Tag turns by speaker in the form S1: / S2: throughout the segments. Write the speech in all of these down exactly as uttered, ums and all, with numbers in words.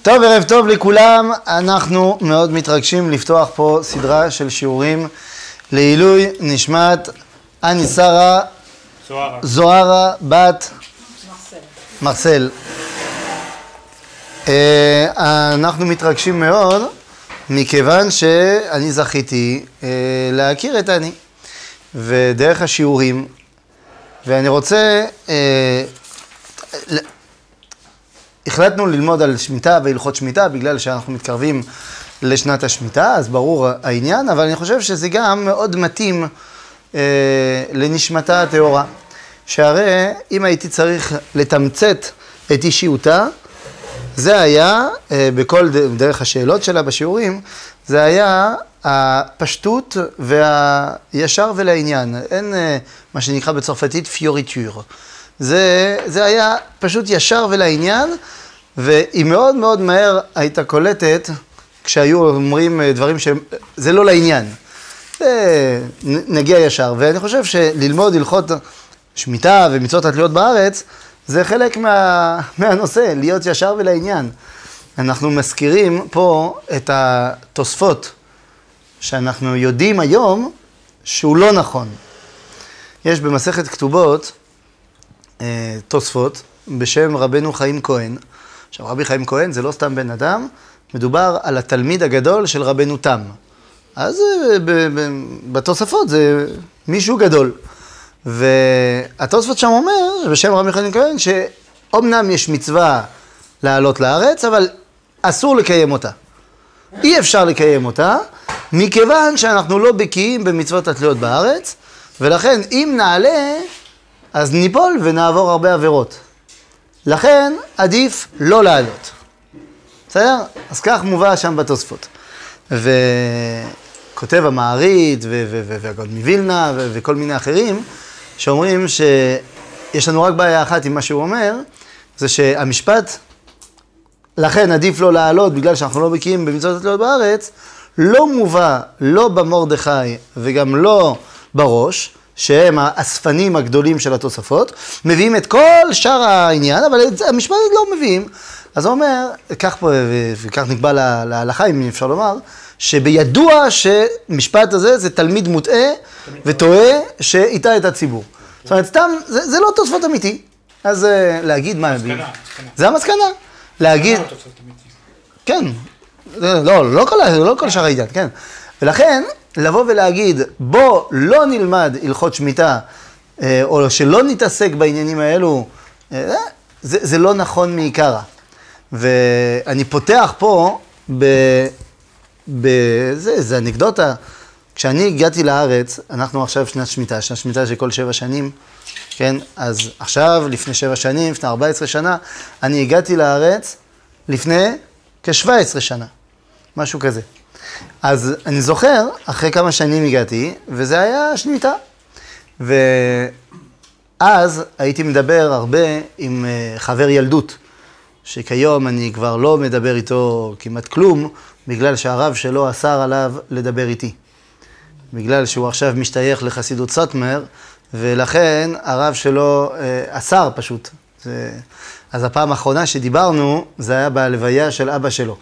S1: טוב, ערב טוב לכולם. אנחנו מאוד מתרגשים לפתוח פה סדרה של שיעורים לעילוי נשמת אני שרה
S2: זוהרה,
S1: זוהרה בת מרסל. אנחנו מתרגשים מאוד מכיוון שאני זכיתי להכיר את אני ודרך השיעורים, ואני רוצה, החלטנו ללמוד על שמיטה והלכות שמיטה בגלל שאנחנו מתקרבים לשנת השמיטה, אז ברור העניין, אבל אני חושב שזה גם מאוד מתאים אה, לנשמתה הטהורה, שהרי אם הייתי צריך לתמצת את אישיותה, זה היה, אה, בכל דרך השאלות שלה בשיעורים, זה היה הפשטות והישר ולעניין, אין אה, מה שנקרא בצרפתית פיוריטור. זה, זה היה פשוט ישר ולעניין, והיא מאוד מאוד מהר הייתה קולטת כשהיו אומרים דברים שזה לא לעניין. זה נגיע ישר, ואני חושב שללמוד הלכות שמיטה ומצוות התלויות בארץ, זה חלק מה, מהנושא, להיות ישר ולעניין. אנחנו מזכירים פה את התוספות, שאנחנו יודעים היום שהוא לא נכון. יש במסכת כתובות, תוספות בשם רבנו חיים כהן. עכשיו, רבי חיים כהן זה לא סתם בן אדם, מדובר על התלמיד הגדול של רבנו תם. אז בתוספות זה מישהו גדול. והתוספות שם אומר, בשם רבי חיים כהן, שאומנם יש מצווה לעלות לארץ, אבל אסור לקיים אותה. אי אפשר לקיים אותה, מכיוון שאנחנו לא בקיאים במצוות התלויות בארץ, ולכן אם נעלה, אז ניפול ונעבור הרבה עבירות. לכן עדיף לא לעלות. בסדר? אז כך מובא שם בתוספות. וכותב המעריד והגאון מווילנה וכל מיני אחרים, שאומרים שיש לנו רק בעיה אחת עם מה שהוא אומר, זה שהמשפט, לכן עדיף לא לעלות בגלל שאנחנו לא בקיאים במצוות התלויות בארץ, לא מובא לא במרדכי וגם לא בראש, שהם האספנים הגדולים של התוספות, מביאים את כל שאר העניין, אבל את המשפט לא מביאים. אז הוא אומר, כך פה, וכך נקבע להלכה, אם אפשר לומר, שבידוע שמשפט הזה זה תלמיד מוטעה וטועה שהטעה את הציבור. זאת אומרת, סתם, זה, זה לא תוספות אמיתי. אז להגיד מה מביאים. זה המסקנה. להגיד... כן. לא, לא כל, לא כל שאר העניין, כן. ולכן, לבוא ולהגיד, בוא לא נלמד הלכות שמיטה, או שלא נתעסק בעניינים האלו, זה, זה לא נכון מעיקרה. ואני פותח פה, ב, ב, זה, זה אנקדוטה, כשאני הגעתי לארץ, אנחנו עכשיו שנת שמיטה, שנת שמיטה של כל שבע שנים, כן? אז עכשיו, לפני שבע שנים, לפני ארבע עשרה שנה, אני הגעתי לארץ לפני כ-שבע עשרה שנה, משהו כזה. אז אני זוכר, אחרי כמה שנים הגעתי, וזה היה שמיטה. ואז הייתי מדבר הרבה עם חבר ילדות, שכיום אני כבר לא מדבר איתו כמעט כלום, בגלל שהרב שלו אסר עליו לדבר איתי. בגלל שהוא עכשיו משתייך לחסידות סאטמר, ולכן הרב שלו אסר פשוט. אז הפעם האחרונה שדיברנו, זה היה בלוויה של אבא שלו.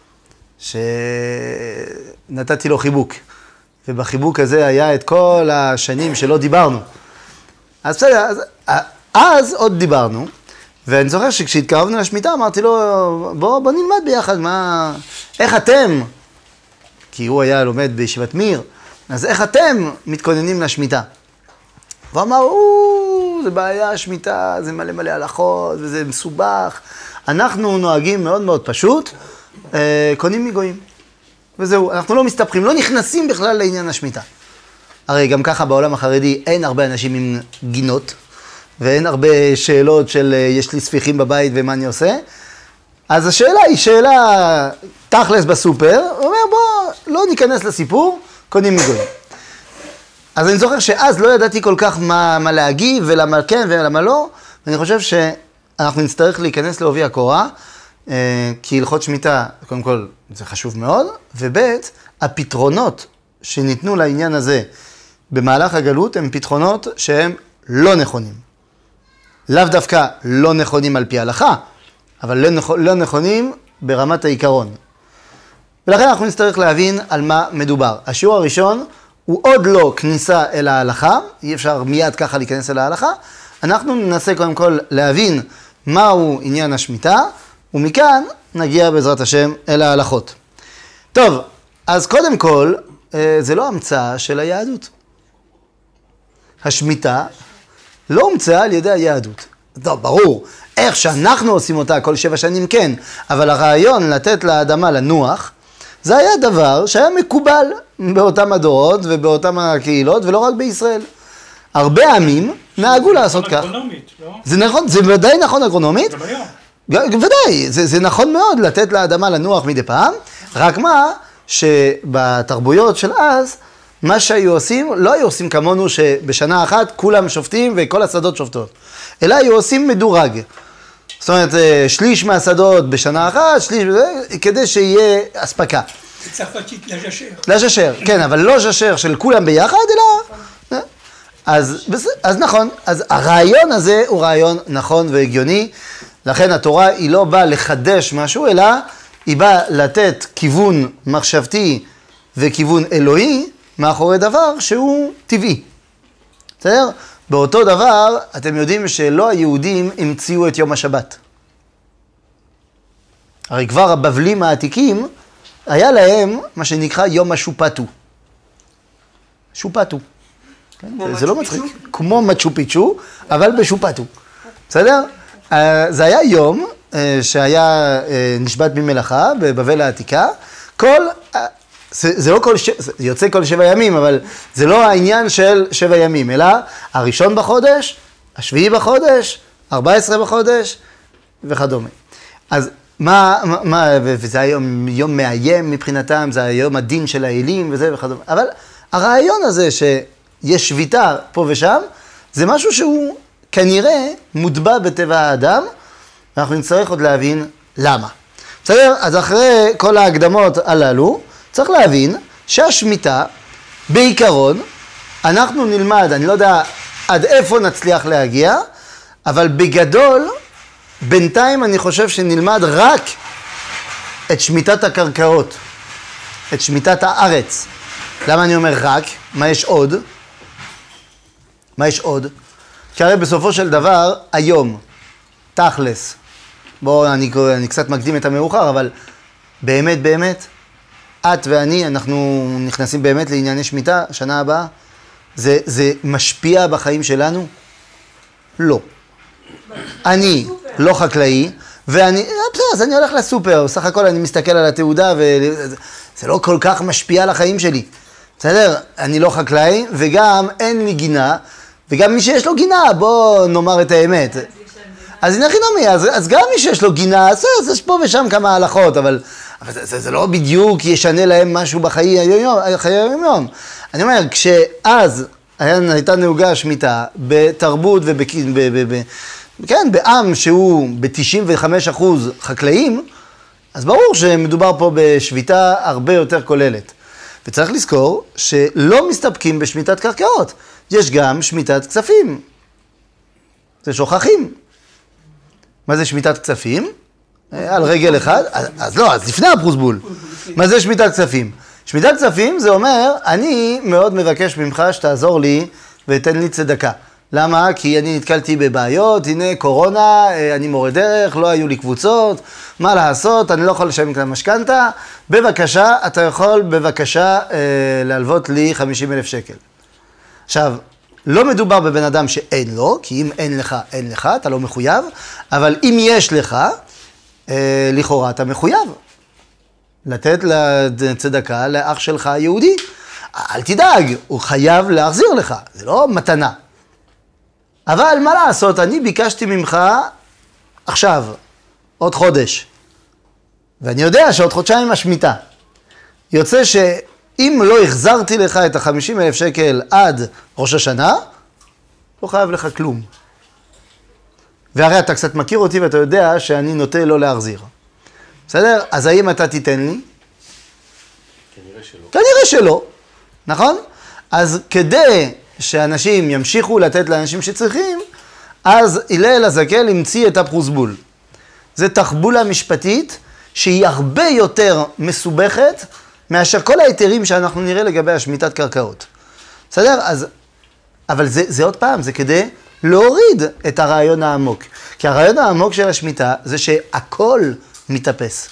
S1: שנתתי לו חיבוק, ובחיבוק הזה היה את כל השנים שלא דיברנו. אז בסדר, אז, אז עוד דיברנו, ואני זוכר שכשהתקרבנו לשמיטה אמרתי לו, בוא, בוא נלמד ביחד, מה, איך אתם, כי הוא היה לומד בישיבת מיר, אז איך אתם מתכוננים לשמיטה? והוא אמר, זה בעיה, שמיטה, זה מלא מלא הלכות, וזה מסובך. אנחנו נוהגים מאוד מאוד פשוט, קונים מגויים. וזהו, אנחנו לא מסתפחים, לא נכנסים בכלל לעניין השמיטה. הרי גם ככה בעולם החרדי אין הרבה אנשים עם גינות, ואין הרבה שאלות של יש לי ספיחים בבית ומה אני עושה. אז השאלה היא שאלה תכלס בסופר, הוא אומר בוא, לא ניכנס לסיפור, קונים מגויים. אז אני זוכר שאז לא ידעתי כל כך מה, מה להגיב ולמה כן ולמה לא, ואני חושב שאנחנו נצטרך להיכנס לעובי הקורה, כי הלכות שמיטה, קודם כל, זה חשוב מאוד, וב' הפתרונות שניתנו לעניין הזה במהלך הגלות הם פתרונות שהם לא נכונים. לאו דווקא לא נכונים על פי ההלכה, אבל לא נכונים ברמת העיקרון. ולכן אנחנו נצטרך להבין על מה מדובר. השיעור הראשון הוא עוד לא כניסה אל ההלכה, אי אפשר מיד ככה להיכנס אל ההלכה, אנחנו ננסה קודם כל להבין מהו עניין השמיטה, ומכאן נגיע בעזרת השם אל ההלכות. טוב, אז קודם כל, זה לא המצאה של היהדות. השמיטה לא הומצאה על ידי היהדות. טוב, ברור, איך שאנחנו עושים אותה כל שבע שנים כן, אבל הרעיון לתת לאדמה לנוח, זה היה דבר שהיה מקובל באותם הדורות ובאותם הקהילות, ולא רק בישראל. הרבה עמים נהגו לעשות כך.
S2: אגרונומית, לא?
S1: זה נכון, זה ודאי נכון אגרונומית.
S2: גם היום.
S1: ודאי, זה, זה נכון מאוד לתת לאדמה לנוח מדי פעם, רק מה שבתרבויות של אז, מה שהיו עושים, לא היו עושים כמונו שבשנה אחת כולם שופטים וכל השדות שופטות, אלא היו עושים מדורג. זאת אומרת, שליש מהשדות בשנה אחת, שליש, כדי שיהיה אספקה.
S2: צרפתית לז'שר.
S1: לז'שר, כן, אבל לא ז'שר של כולם ביחד, אלא... אז, אז נכון, אז הרעיון הזה הוא רעיון נכון והגיוני, לכן התורה היא לא באה לחדש משהו, אלא היא באה לתת כיוון מחשבתי וכיוון אלוהי מאחורי דבר שהוא טבעי. בסדר? באותו דבר, אתם יודעים שלא היהודים המציאו את יום השבת. הרי כבר הבבלים העתיקים, היה להם מה שנקרא יום השופטו. שופטו. כן? זה לא מצחיק. כמו מצ'ו פיצ'ו, אבל בשופטו. בסדר? זה היה יום שהיה נשבת במלאכה בבבל העתיקה. כל... זה, זה לא כל, ש... זה יוצא כל שבע ימים, אבל זה לא העניין של שבע ימים, אלא הראשון בחודש, השביעי בחודש, ארבע עשרה בחודש וכדומה. אז מה, מה, וזה היום יום מאיים מבחינתם, זה היום הדין של האלים וזה וכדומה. אבל הרעיון הזה שיש שביתה פה ושם, זה משהו שהוא כנראה מוטבע בטבע האדם, ואנחנו נצטרך עוד להבין למה. בסדר? אז אחרי כל ההקדמות הללו, צריך להבין שהשמיטה, בעיקרון, אנחנו נלמד, אני לא יודע עד איפה נצליח להגיע, אבל בגדול, בינתיים אני חושב שנלמד רק את שמיטת הקרקעות, את שמיטת הארץ. למה אני אומר רק? מה יש עוד? מה יש עוד? כי הרי בסופו של דבר, היום, תכלס, בואו, אני, אני קצת מקדים את המאוחר, אבל באמת, באמת, את ואני, אנחנו נכנסים באמת לענייני שמיטה, שנה הבאה. זה, זה משפיע בחיים שלנו? לא. אני לא חקלאי, ואני, בסדר, אז אני הולך לסופר, סך הכל אני מסתכל על התעודה, וזה לא כל כך משפיע על החיים שלי. בסדר? אני לא חקלאי, וגם אין לי גינה, וגם מי שיש לו גינה, בוא נאמר את האמת. אז הנה חינמי, אז, אז גם מי שיש לו גינה, אז, אז יש פה ושם כמה הלכות, אבל... אבל זה, זה, זה לא בדיוק ישנה להם משהו בחיי היום, חיי היום. אני אומר, כשאז הייתה נהוגה שמיטה בתרבות וכן, בעם שהוא ב-תשעים וחמישה אחוז חקלאים, אז ברור שמדובר פה בשביתה הרבה יותר כוללת. וצריך לזכור שלא מסתפקים בשמיטת קרקעות, יש גם שמיטת כספים. זה שוכחים. מה זה שמיטת כספים? על רגל אחד, אז, אז לא, אז לפני הפרוסבול. מה זה שמיטת כספים? שמיטת כספים זה אומר, אני מאוד מבקש ממך שתעזור לי ותן לי צדקה. למה? כי אני נתקלתי בבעיות, הנה קורונה, אני מורה דרך, לא היו לי קבוצות, מה לעשות, אני לא יכול לשלם את המשכנתה, בבקשה, אתה יכול בבקשה אה, להלוות לי חמישים אלף שקל. עכשיו, לא מדובר בבן אדם שאין לו, כי אם אין לך, אין לך, אתה לא מחויב, אבל אם יש לך, אה, לכאורה אתה מחויב לתת לצדקה לאח שלך היהודי. אל תדאג, הוא חייב להחזיר לך, זה לא מתנה. אבל מה לעשות, אני ביקשתי ממך עכשיו, עוד חודש, ואני יודע שעוד חודשיים השמיטה. יוצא שאם לא החזרתי לך את ה-חמישים אלף שקל עד ראש השנה, לא חייב לך כלום. והרי אתה קצת מכיר אותי ואתה יודע שאני נוטה לא להחזיר. בסדר? אז האם אתה תיתן לי?
S2: כנראה שלא.
S1: כנראה שלא, נכון? אז כדי שאנשים ימשיכו לתת לאנשים שצריכים, אז הלל הזקן המציא את הפרוסבול. זה תחבולה משפטית שהיא הרבה יותר מסובכת מאשר כל ההיתרים שאנחנו נראה לגבי השמיטת קרקעות. בסדר? אז, אבל זה, זה עוד פעם, זה כדי להוריד את הרעיון העמוק. כי הרעיון העמוק של השמיטה זה שהכל מתאפס.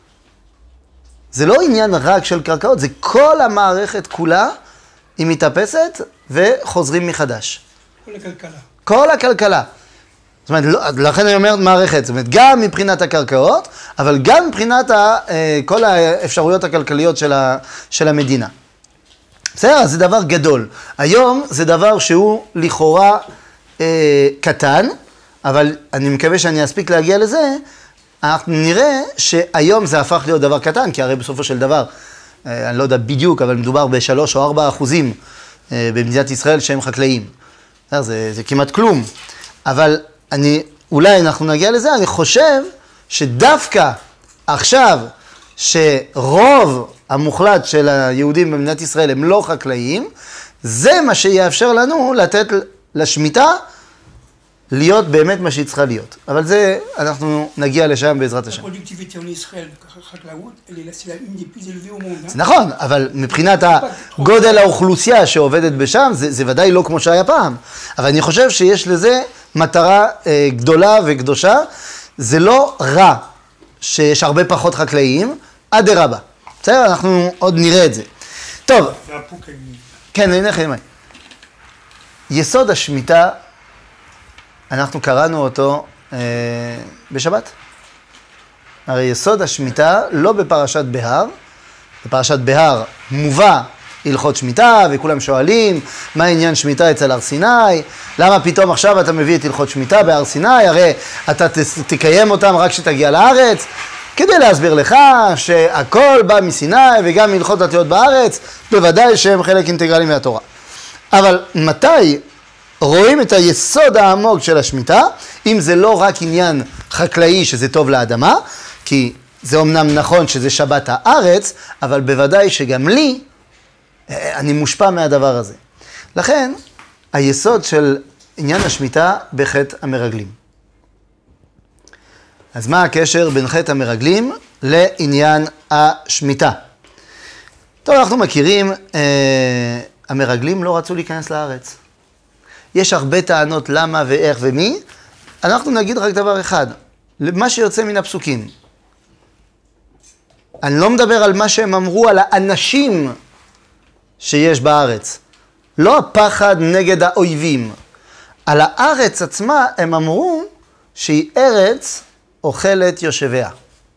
S1: זה לא עניין רק של קרקעות, זה כל המערכת כולה, היא מתאפסת וחוזרים מחדש.
S2: כל הכלכלה.
S1: כל הכלכלה. זאת אומרת, לכן אני אומר מערכת, זאת אומרת, גם מבחינת הקרקעות, אבל גם מבחינת ה, כל האפשרויות הכלכליות של, ה, של המדינה. בסדר, זה דבר גדול. היום זה דבר שהוא לכאורה אה, קטן, אבל אני מקווה שאני אספיק להגיע לזה, אנחנו נראה שהיום זה הפך להיות דבר קטן, כי הרי בסופו של דבר, אה, אני לא יודע בדיוק, אבל מדובר בשלוש או ארבע אחוזים אה, במדינת ישראל שהם חקלאים. זה, זה, זה כמעט כלום. אבל אני, אולי אנחנו נגיע לזה, אני חושב שדווקא עכשיו, שרוב המוחלט של היהודים במדינת ישראל הם לא חקלאים, זה מה שיאפשר לנו לתת לשמיטה להיות באמת מה שהיא צריכה להיות. אבל זה, אנחנו נגיע לשם בעזרת השם.
S2: הפרודוקטיביטה en ישראל, חקלאות, elle est la une des plus élevées au monde.
S1: זה נכון, אבל מבחינת הגודל האוכלוסייה שעובדת בשם, זה, זה ודאי לא כמו שהיה פעם. אבל אני חושב שיש לזה מטרה אה, גדולה וקדושה. זה לא רע שיש הרבה פחות חקלאים, אדרבה. בסדר, אנחנו עוד נראה את זה. טוב. כן, הנה לכם. יסוד השמיטה, אנחנו קראנו אותו אה, בשבת. הרי יסוד השמיטה לא בפרשת בהר, בפרשת בהר מובא הלכות שמיטה, וכולם שואלים מה העניין שמיטה אצל הר סיני, למה פתאום עכשיו אתה מביא את הלכות שמיטה בהר סיני, הרי אתה תקיים אותם רק כשתגיע לארץ, כדי להסביר לך שהכל בא מסיני וגם הלכות התיות בארץ, בוודאי שהם חלק אינטגרלי מהתורה. אבל מתי רואים את היסוד העמוק של השמיטה, אם זה לא רק עניין חקלאי שזה טוב לאדמה, כי זה אומנם נכון שזה שבת הארץ, אבל בוודאי שגם לי, אני מושפע מהדבר הזה. לכן, היסוד של עניין השמיטה בחטא המרגלים. אז מה הקשר בין חטא המרגלים לעניין השמיטה? טוב, אנחנו מכירים, אה, המרגלים לא רצו להיכנס לארץ. יש הרבה טענות למה ואיך ומי, אנחנו נגיד רק דבר אחד, מה שיוצא מן הפסוקים. אני לא מדבר על מה שהם אמרו על האנשים שיש בארץ. לא הפחד נגד האויבים. על הארץ עצמה הם אמרו שהיא ארץ אוכלת יושביה.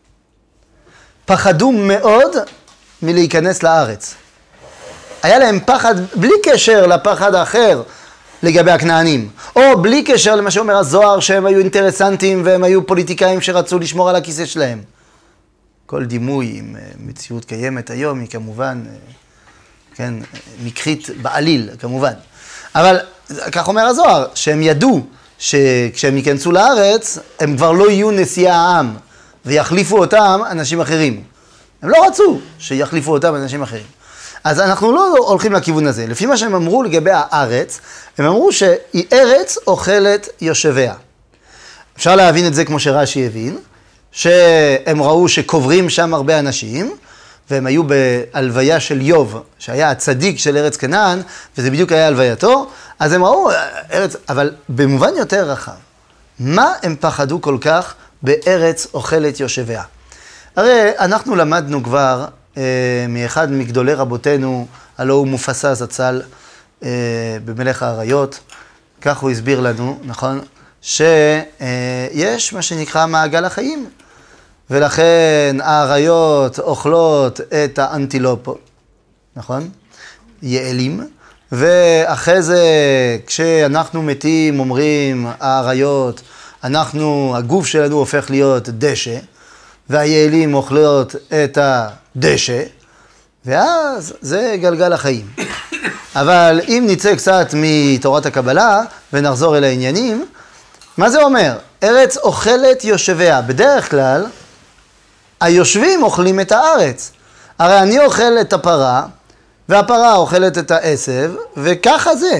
S1: פחדו מאוד מלהיכנס לארץ. היה להם פחד בלי קשר לפחד האחר לגבי הכנענים, או בלי קשר למה שאומר הזוהר שהם היו אינטרסנטים והם היו פוליטיקאים שרצו לשמור על הכיסא שלהם. כל דימוי עם מציאות קיימת היום היא כמובן, כן, מקרית בעליל כמובן. אבל כך אומר הזוהר, שהם ידעו שכשהם ייכנסו לארץ הם כבר לא יהיו נשיאי העם ויחליפו אותם אנשים אחרים. הם לא רצו שיחליפו אותם אנשים אחרים. אז אנחנו לא הולכים לכיוון הזה. לפי מה שהם אמרו לגבי הארץ, הם אמרו שהיא ארץ אוכלת יושביה. אפשר להבין את זה כמו שרש"י הבין, שהם ראו שקוברים שם הרבה אנשים, והם היו בהלוויה של יוב, שהיה הצדיק של ארץ כנען, וזה בדיוק היה הלווייתו, אז הם ראו ארץ, אבל במובן יותר רחב, מה הם פחדו כל כך בארץ אוכלת יושביה? הרי אנחנו למדנו כבר אה, מאחד מגדולי רבותינו, הלא הוא מופסה זצ"ל אה, במלך האריות, כך הוא הסביר לנו, נכון? שיש מה שנקרא מעגל החיים, ולכן האריות אוכלות את האנטילופות, נכון? יעלים, ואחרי זה כשאנחנו מתים אומרים האריות, אנחנו, הגוף שלנו הופך להיות דשא, והיעלים אוכלות את הדשא, ואז זה גלגל החיים. אבל אם נצא קצת מתורת הקבלה ונחזור אל העניינים, מה זה אומר? ארץ אוכלת יושביה. בדרך כלל, היושבים אוכלים את הארץ. הרי אני אוכל את הפרה, והפרה אוכלת את העשב, וככה זה.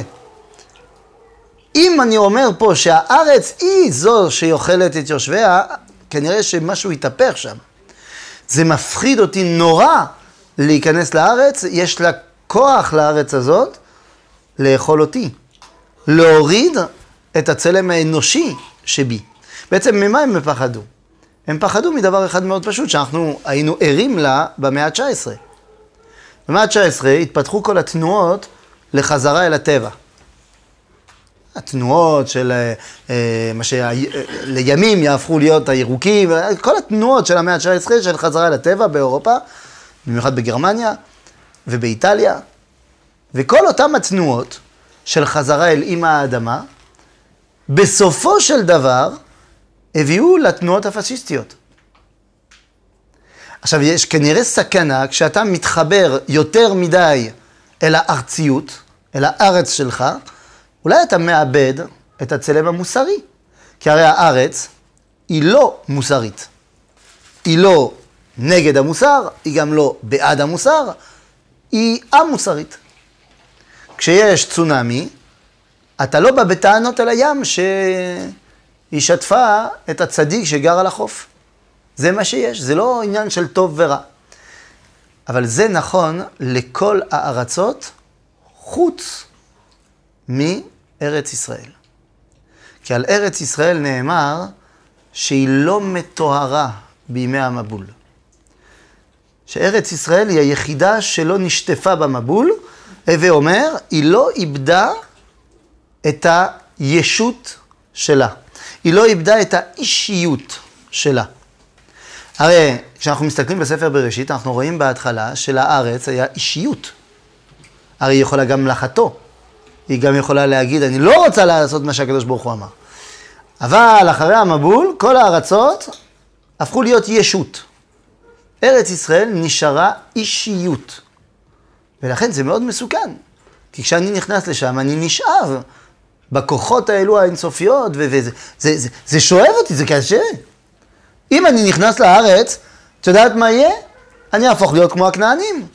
S1: אם אני אומר פה שהארץ היא זו שאוכלת את יושביה, כנראה שמשהו יתהפך שם. זה מפחיד אותי נורא להיכנס לארץ, יש לה כוח לארץ הזאת לאכול אותי. להוריד את הצלם האנושי שבי. בעצם ממה הם פחדו? הם פחדו מדבר אחד מאוד פשוט, שאנחנו היינו ערים לה במאה ה-תשע עשרה. במאה ה-תשע עשרה התפתחו כל התנועות לחזרה אל הטבע. התנועות של מה שלימים יהפכו להיות הירוקים, כל התנועות של המאה ה-תשע עשרה של חזרה אל הטבע באירופה, במיוחד בגרמניה ובאיטליה, וכל אותם התנועות של חזרה אל אמא האדמה, בסופו של דבר הביאו לתנועות הפשיסטיות. עכשיו, יש כנראה סכנה כשאתה מתחבר יותר מדי אל הארציות, אל הארץ שלך, אולי אתה מאבד את הצלם המוסרי. כי הרי הארץ היא לא מוסרית. היא לא נגד המוסר, היא גם לא בעד המוסר, היא א-מוסרית. כשיש צונמי, אתה לא בא בטענות אל הים שהיא שטפה את הצדיק שגר על החוף. זה מה שיש, זה לא עניין של טוב ורע. אבל זה נכון לכל הארצות חוץ מארץ ישראל. כי על ארץ ישראל נאמר שהיא לא מטוהרה בימי המבול. שארץ ישראל היא היחידה שלא נשטפה במבול, הווה אומר, היא לא איבדה את הישות שלה. היא לא איבדה את האישיות שלה. הרי כשאנחנו מסתכלים בספר בראשית, אנחנו רואים בהתחלה שלארץ היה אישיות. הרי היא יכולה גם לחתו. היא גם יכולה להגיד, אני לא רוצה לעשות מה שהקדוש ברוך הוא אמר. אבל אחרי המבול, כל הארצות הפכו להיות ישות. ארץ ישראל נשארה אישיות. ולכן זה מאוד מסוכן. כי כשאני נכנס לשם, אני נשאב בכוחות האלו האינסופיות, וזה זה, זה, זה שואב אותי, זה קשה. אם אני נכנס לארץ, את יודעת מה יהיה? אני אהפוך להיות כמו הכנענים.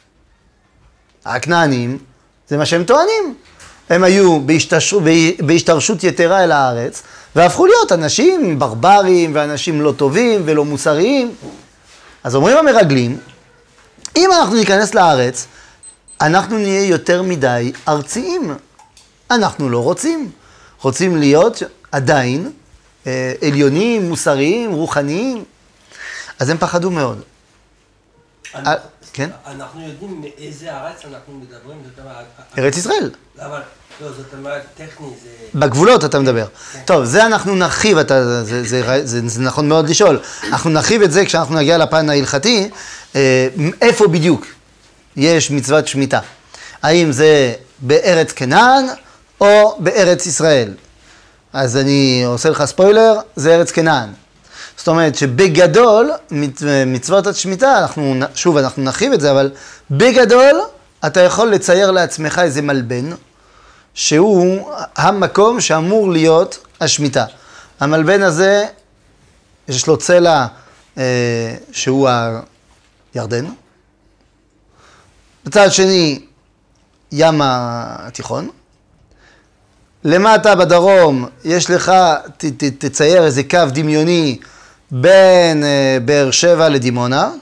S1: הכנענים, זה מה שהם טוענים. הם היו בהשתרשות, בהשתרשות יתרה אל הארץ, והפכו להיות אנשים ברברים, ואנשים לא טובים ולא מוסריים. אז אומרים המרגלים, אם אנחנו ניכנס לארץ, אנחנו נהיה יותר מדי ארציים. אנחנו לא רוצים. רוצים להיות עדיין אה, עליונים, מוסריים, רוחניים. אז הם פחדו מאוד.
S3: אנחנו,
S1: אה, כן?
S3: אנחנו יודעים מאיזה ארץ אנחנו מדברים.
S1: ארץ ישראל.
S3: אבל לא, זאת אומרת, טכני זה...
S1: בגבולות אתה מדבר. כן. טוב, זה אנחנו נרחיב, אתה, זה, זה, זה, זה, זה נכון מאוד לשאול. אנחנו נרחיב את זה כשאנחנו נגיע לפן ההלכתי, אה, איפה בדיוק יש מצוות שמיטה. האם זה בארץ כנען או בארץ ישראל. אז אני עושה לך ספוילר, זה ארץ כנען. זאת אומרת שבגדול, מצוות השמיטה, אנחנו, שוב אנחנו נרחיב את זה, אבל בגדול אתה יכול לצייר לעצמך איזה מלבן, שהוא המקום שאמור להיות השמיטה. המלבן הזה, יש לו צלע אה, שהוא הירדן. בצד שני, ים התיכון. למטה בדרום, יש לך, ת, ת, תצייר איזה קו דמיוני בין אה, באר שבע לדימונה.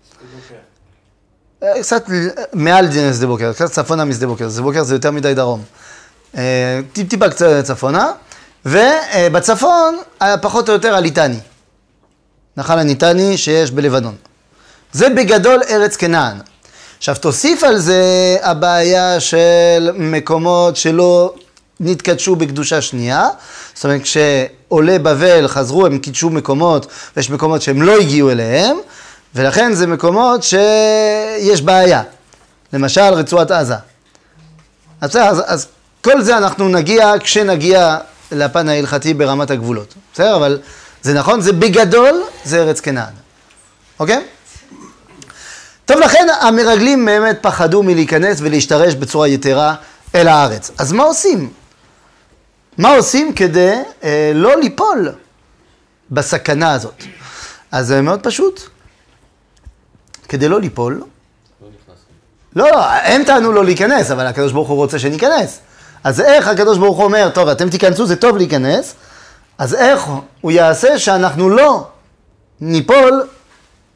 S1: אה, קצת מעל שדה בוקר, קצת צפונה משדה בוקר. שדה בוקר זה יותר מדי דרום. טיפ טיפה קצת צפונה, ובצפון פחות או יותר הליטני. נחל הניטני שיש בלבנון. זה בגדול ארץ כנען. עכשיו תוסיף על זה הבעיה של מקומות שלא נתקדשו בקדושה שנייה. זאת אומרת כשעולי בבל חזרו הם קידשו מקומות, ויש מקומות שהם לא הגיעו אליהם, ולכן זה מקומות שיש בעיה. למשל רצועת עזה. אז, אז, אז כל זה אנחנו נגיע כשנגיע לפן ההלכתי ברמת הגבולות. בסדר? אבל זה נכון, זה בגדול, זה ארץ כנען. אוקיי? טוב, לכן המרגלים באמת פחדו מלהיכנס ולהשתרש בצורה יתרה אל הארץ. אז מה עושים? מה עושים כדי אה, לא ליפול בסכנה הזאת? אז זה מאוד פשוט. כדי לא ליפול, לא, לא, הם טענו לא להיכנס, אבל הקדוש ברוך הוא רוצה שניכנס. אז איך הקדוש ברוך הוא אומר, טוב, אתם תיכנסו, זה טוב להיכנס, אז איך הוא יעשה שאנחנו לא ניפול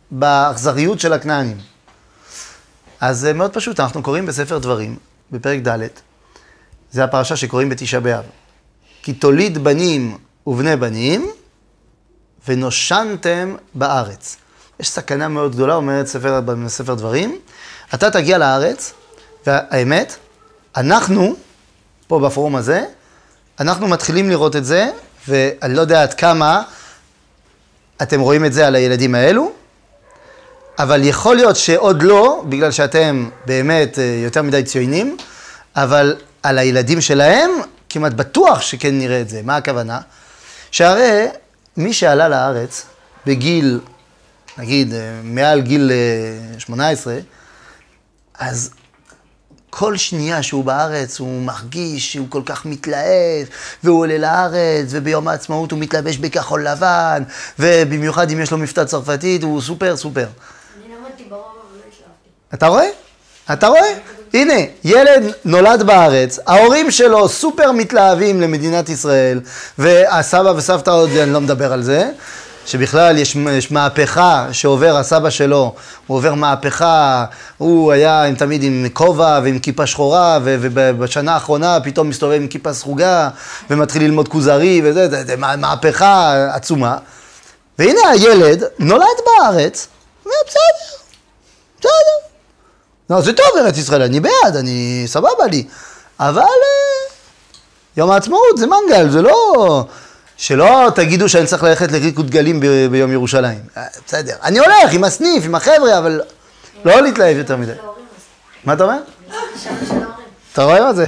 S1: באכזריות של הכנענים. אז זה מאוד פשוט, אנחנו קוראים בספר דברים, בפרק ד', זה הפרשה שקוראים בתשעה באב. כי תוליד בנים ובני בנים, ונושנתם בארץ. יש סכנה מאוד גדולה, אומרת ספר, בספר דברים, אתה תגיע לארץ, והאמת, אנחנו, פה בפורום הזה, אנחנו מתחילים לראות את זה, ואני לא יודע עד כמה אתם רואים את זה על הילדים האלו, אבל יכול להיות שעוד לא, בגלל שאתם באמת יותר מדי ציונים, אבל על הילדים שלהם כמעט בטוח שכן נראה את זה. מה הכוונה? שהרי מי שעלה לארץ בגיל, נגיד, מעל גיל שמונה עשרה, אז כל שנייה שהוא בארץ הוא מרגיש שהוא כל כך מתלהב, והוא עולה לארץ, וביום העצמאות הוא מתלבש בכחול לבן, ובמיוחד אם יש לו מבטא צרפתית, הוא סופר סופר.
S4: אני למדתי ברוב, אבל לא השלבתי.
S1: אתה רואה? אתה רואה? הנה, ילד נולד בארץ, ההורים שלו סופר מתלהבים למדינת ישראל, והסבא וסבתא עוד, אני לא מדבר על זה, שבכלל יש, יש מהפכה שעובר הסבא שלו, הוא עובר מהפכה, הוא היה עם, תמיד עם כובע ועם כיפה שחורה, ו, ובשנה האחרונה פתאום מסתובב עם כיפה סרוגה, ומתחיל ללמוד כוזרי, וזה, זה, זה מהפכה עצומה. והנה הילד נולד בארץ, ובסדר, בסדר. לא, זה טוב ארץ ישראל, אני בעד, אני סבבה לי, אבל יום העצמאות זה מנגל, זה לא... שלא תגידו שאני צריך ללכת לריקוד דגלים ב- ביום ירושלים. בסדר, אני הולך עם הסניף, עם החבר'ה, אבל לא להתלהב יותר מדי. מה אתה אומר? אתה רואה מה זה?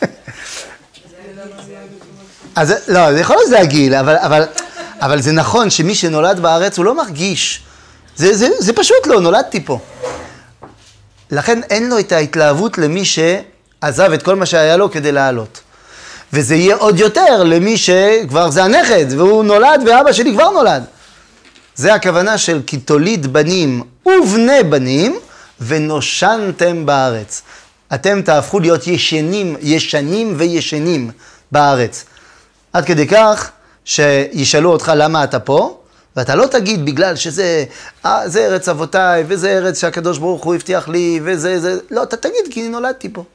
S1: אז לא, זה יכול להיות זה הגיל, אבל, אבל, אבל זה נכון שמי שנולד בארץ הוא לא מרגיש. זה, זה, זה פשוט לא, נולדתי פה. לכן אין לו את ההתלהבות למי שעזב את כל מה שהיה לו כדי לעלות. וזה יהיה עוד יותר למי שכבר זה הנכד, והוא נולד ואבא שלי כבר נולד. זה הכוונה של כי תוליד בנים ובני בנים ונושנתם בארץ. אתם תהפכו להיות ישנים, ישנים וישנים בארץ. עד כדי כך שישאלו אותך למה אתה פה, ואתה לא תגיד בגלל שזה, אה, זה ארץ אבותיי, וזה ארץ שהקדוש ברוך הוא הבטיח לי, וזה, זה, לא, אתה תגיד כי אני נולדתי פה.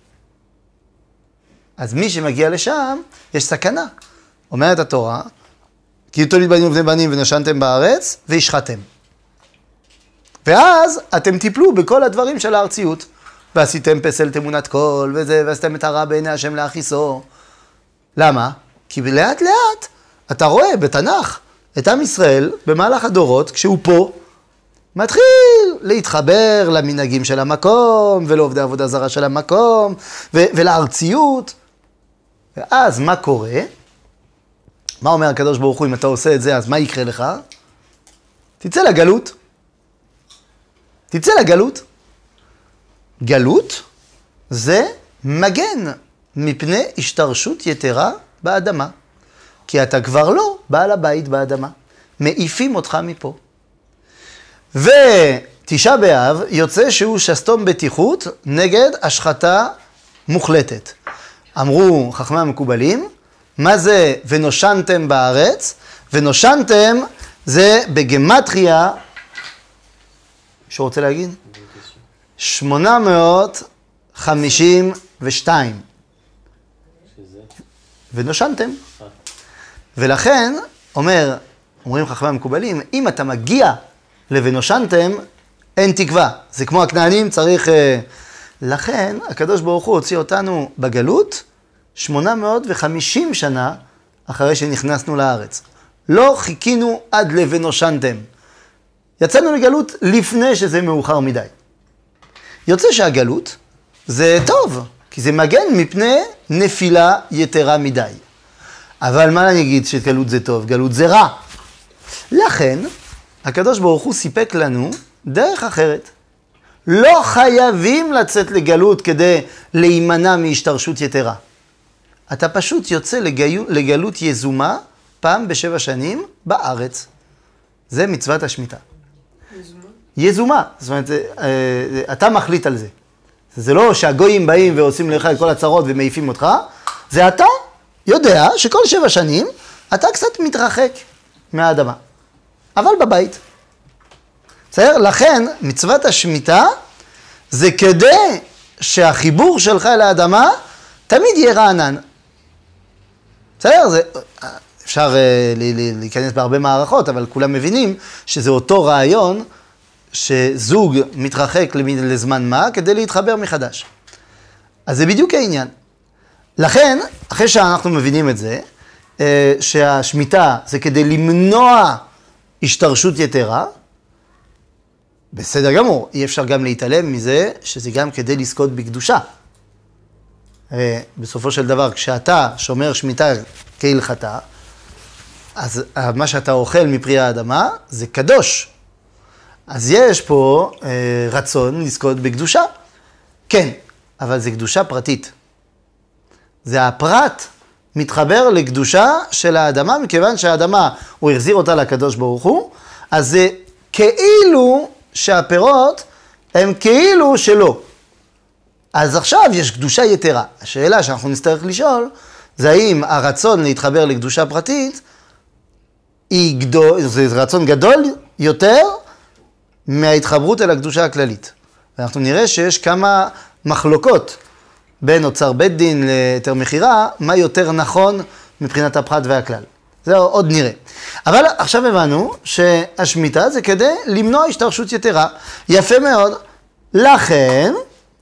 S1: אז מי שמגיע לשם, יש סכנה. אומרת התורה, כי תוליד בנים ובני בנים ונושנתם בארץ, והשחתם. ואז אתם תיפלו בכל הדברים של הארציות. ועשיתם פסל תמונת קול, וזה, ועשיתם את הרע בעיני השם להכיסו. למה? כי לאט לאט אתה רואה בתנ"ך את עם ישראל במהלך הדורות, כשהוא פה, מתחיל להתחבר למנהגים של המקום, ולעובדי עבודה זרה של המקום, ו- ולארציות. ואז מה קורה? מה אומר הקדוש ברוך הוא, אם אתה עושה את זה, אז מה יקרה לך? תצא לגלות. תצא לגלות. גלות זה מגן מפני השתרשות יתרה באדמה. כי אתה כבר לא בעל הבית באדמה. מעיפים אותך מפה. ותשעה באב יוצא שהוא שסתום בטיחות נגד השחתה מוחלטת. אמרו חכמי המקובלים, מה זה ונושנתם בארץ? ונושנתם זה בגמטריה, שהוא רוצה להגיד? שמונה מאות חמישים ושתיים. ונושנתם. ולכן, אומר, אומרים חכמי המקובלים, אם אתה מגיע ל"ונושנתם", אין תקווה. זה כמו הכנענים, צריך... לכן, הקדוש ברוך הוא הוציא אותנו בגלות שמונה מאות וחמישים שנה אחרי שנכנסנו לארץ. לא חיכינו עד ל"ונושנתם". יצאנו לגלות לפני שזה מאוחר מדי. יוצא שהגלות זה טוב, כי זה מגן מפני נפילה יתרה מדי. אבל מה אני אגיד שגלות זה טוב? גלות זה רע. לכן, הקדוש ברוך הוא סיפק לנו דרך אחרת. לא חייבים לצאת לגלות כדי להימנע מהשתרשות יתרה. אתה פשוט יוצא לגלות, לגלות יזומה פעם בשבע שנים בארץ. זה מצוות השמיטה. יזומה? יזומה. זאת אומרת, אתה מחליט על זה. זה לא שהגויים באים ועושים לך את כל הצרות ומעיפים אותך, זה אתה יודע שכל שבע שנים אתה קצת מתרחק מהאדמה. אבל בבית. בסדר? לכן, מצוות השמיטה זה כדי שהחיבור שלך אל האדמה תמיד יהיה רענן. בסדר? זה, אפשר uh, להיכנס בהרבה מערכות, אבל כולם מבינים שזה אותו רעיון שזוג מתרחק לזמן מה כדי להתחבר מחדש. אז זה בדיוק העניין. לכן, אחרי שאנחנו מבינים את זה, uh, שהשמיטה זה כדי למנוע השתרשות יתרה, בסדר גמור, אי אפשר גם להתעלם מזה שזה גם כדי לזכות בקדושה. בסופו של דבר, כשאתה שומר שמיטה כהלכתה, אז מה שאתה אוכל מפרי האדמה זה קדוש. אז יש פה אה, רצון לזכות בקדושה. כן, אבל זה קדושה פרטית. זה הפרט מתחבר לקדושה של האדמה, מכיוון שהאדמה, הוא החזיר אותה לקדוש ברוך הוא, אז זה כאילו שהפירות הם כאילו שלו. אז עכשיו יש קדושה יתרה. השאלה שאנחנו נצטרך לשאול, זה האם הרצון להתחבר לקדושה פרטית, היא גדול, זה רצון גדול יותר מההתחברות אל הקדושה הכללית. ואנחנו נראה שיש כמה מחלוקות בין אוצר בית דין ליתר מחירה, מה יותר נכון מבחינת הפרט והכלל. זה עוד נראה. אבל עכשיו הבנו שהשמיטה זה כדי למנוע השתרשות יתרה. יפה מאוד. לכן,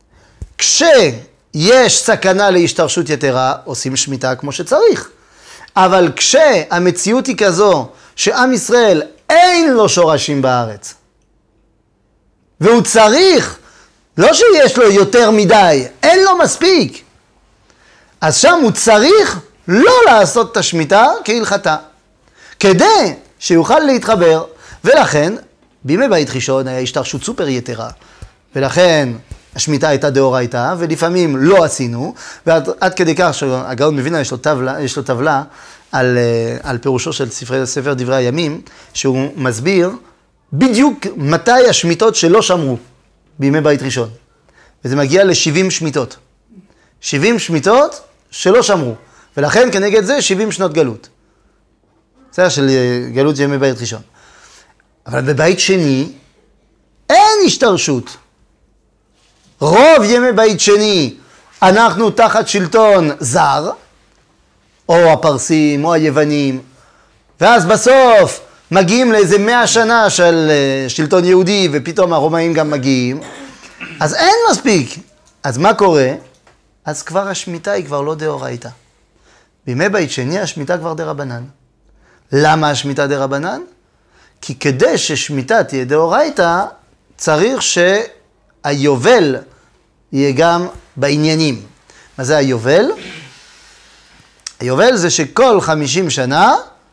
S1: כשיש סכנה להשתרשות יתרה, עושים שמיטה כמו שצריך. אבל כשהמציאות היא כזו שעם ישראל אין לו שורשים בארץ, והוא צריך, לא שיש לו יותר מדי, אין לו מספיק, אז שם הוא צריך לא לעשות את השמיטה כהלכתה, כדי שיוכל להתחבר. ולכן, בימי בית ראשון היה השתרשות סופר יתרה, ולכן השמיטה הייתה דאורייתא, ולפעמים לא עשינו, ועד עד כדי כך שהגאון מווילנה יש לו טבלה, יש לו טבלה על, על פירושו של ספר, ספר דברי הימים, שהוא מסביר בדיוק מתי השמיטות שלא שמרו בימי בית ראשון. וזה מגיע ל-שבעים שמיטות. שבעים שמיטות שלא שמרו. ולכן כנגד זה שבעים שנות גלות. זה של גלות ימי בית ראשון. אבל בבית שני אין השתרשות. רוב ימי בית שני אנחנו תחת שלטון זר, או הפרסים או היוונים, ואז בסוף מגיעים לאיזה מאה שנה של שלטון יהודי, ופתאום הרומאים גם מגיעים, אז אין מספיק. אז מה קורה? אז כבר השמיטה היא כבר לא דאורייתא. בימי בית שני השמיטה כבר דרבנן. למה השמיטה דרבנן? כי כדי ששמיטה תהיה דאורייתא, צריך שהיובל יהיה גם בעניינים. מה זה היובל? היובל זה שכל חמישים שנה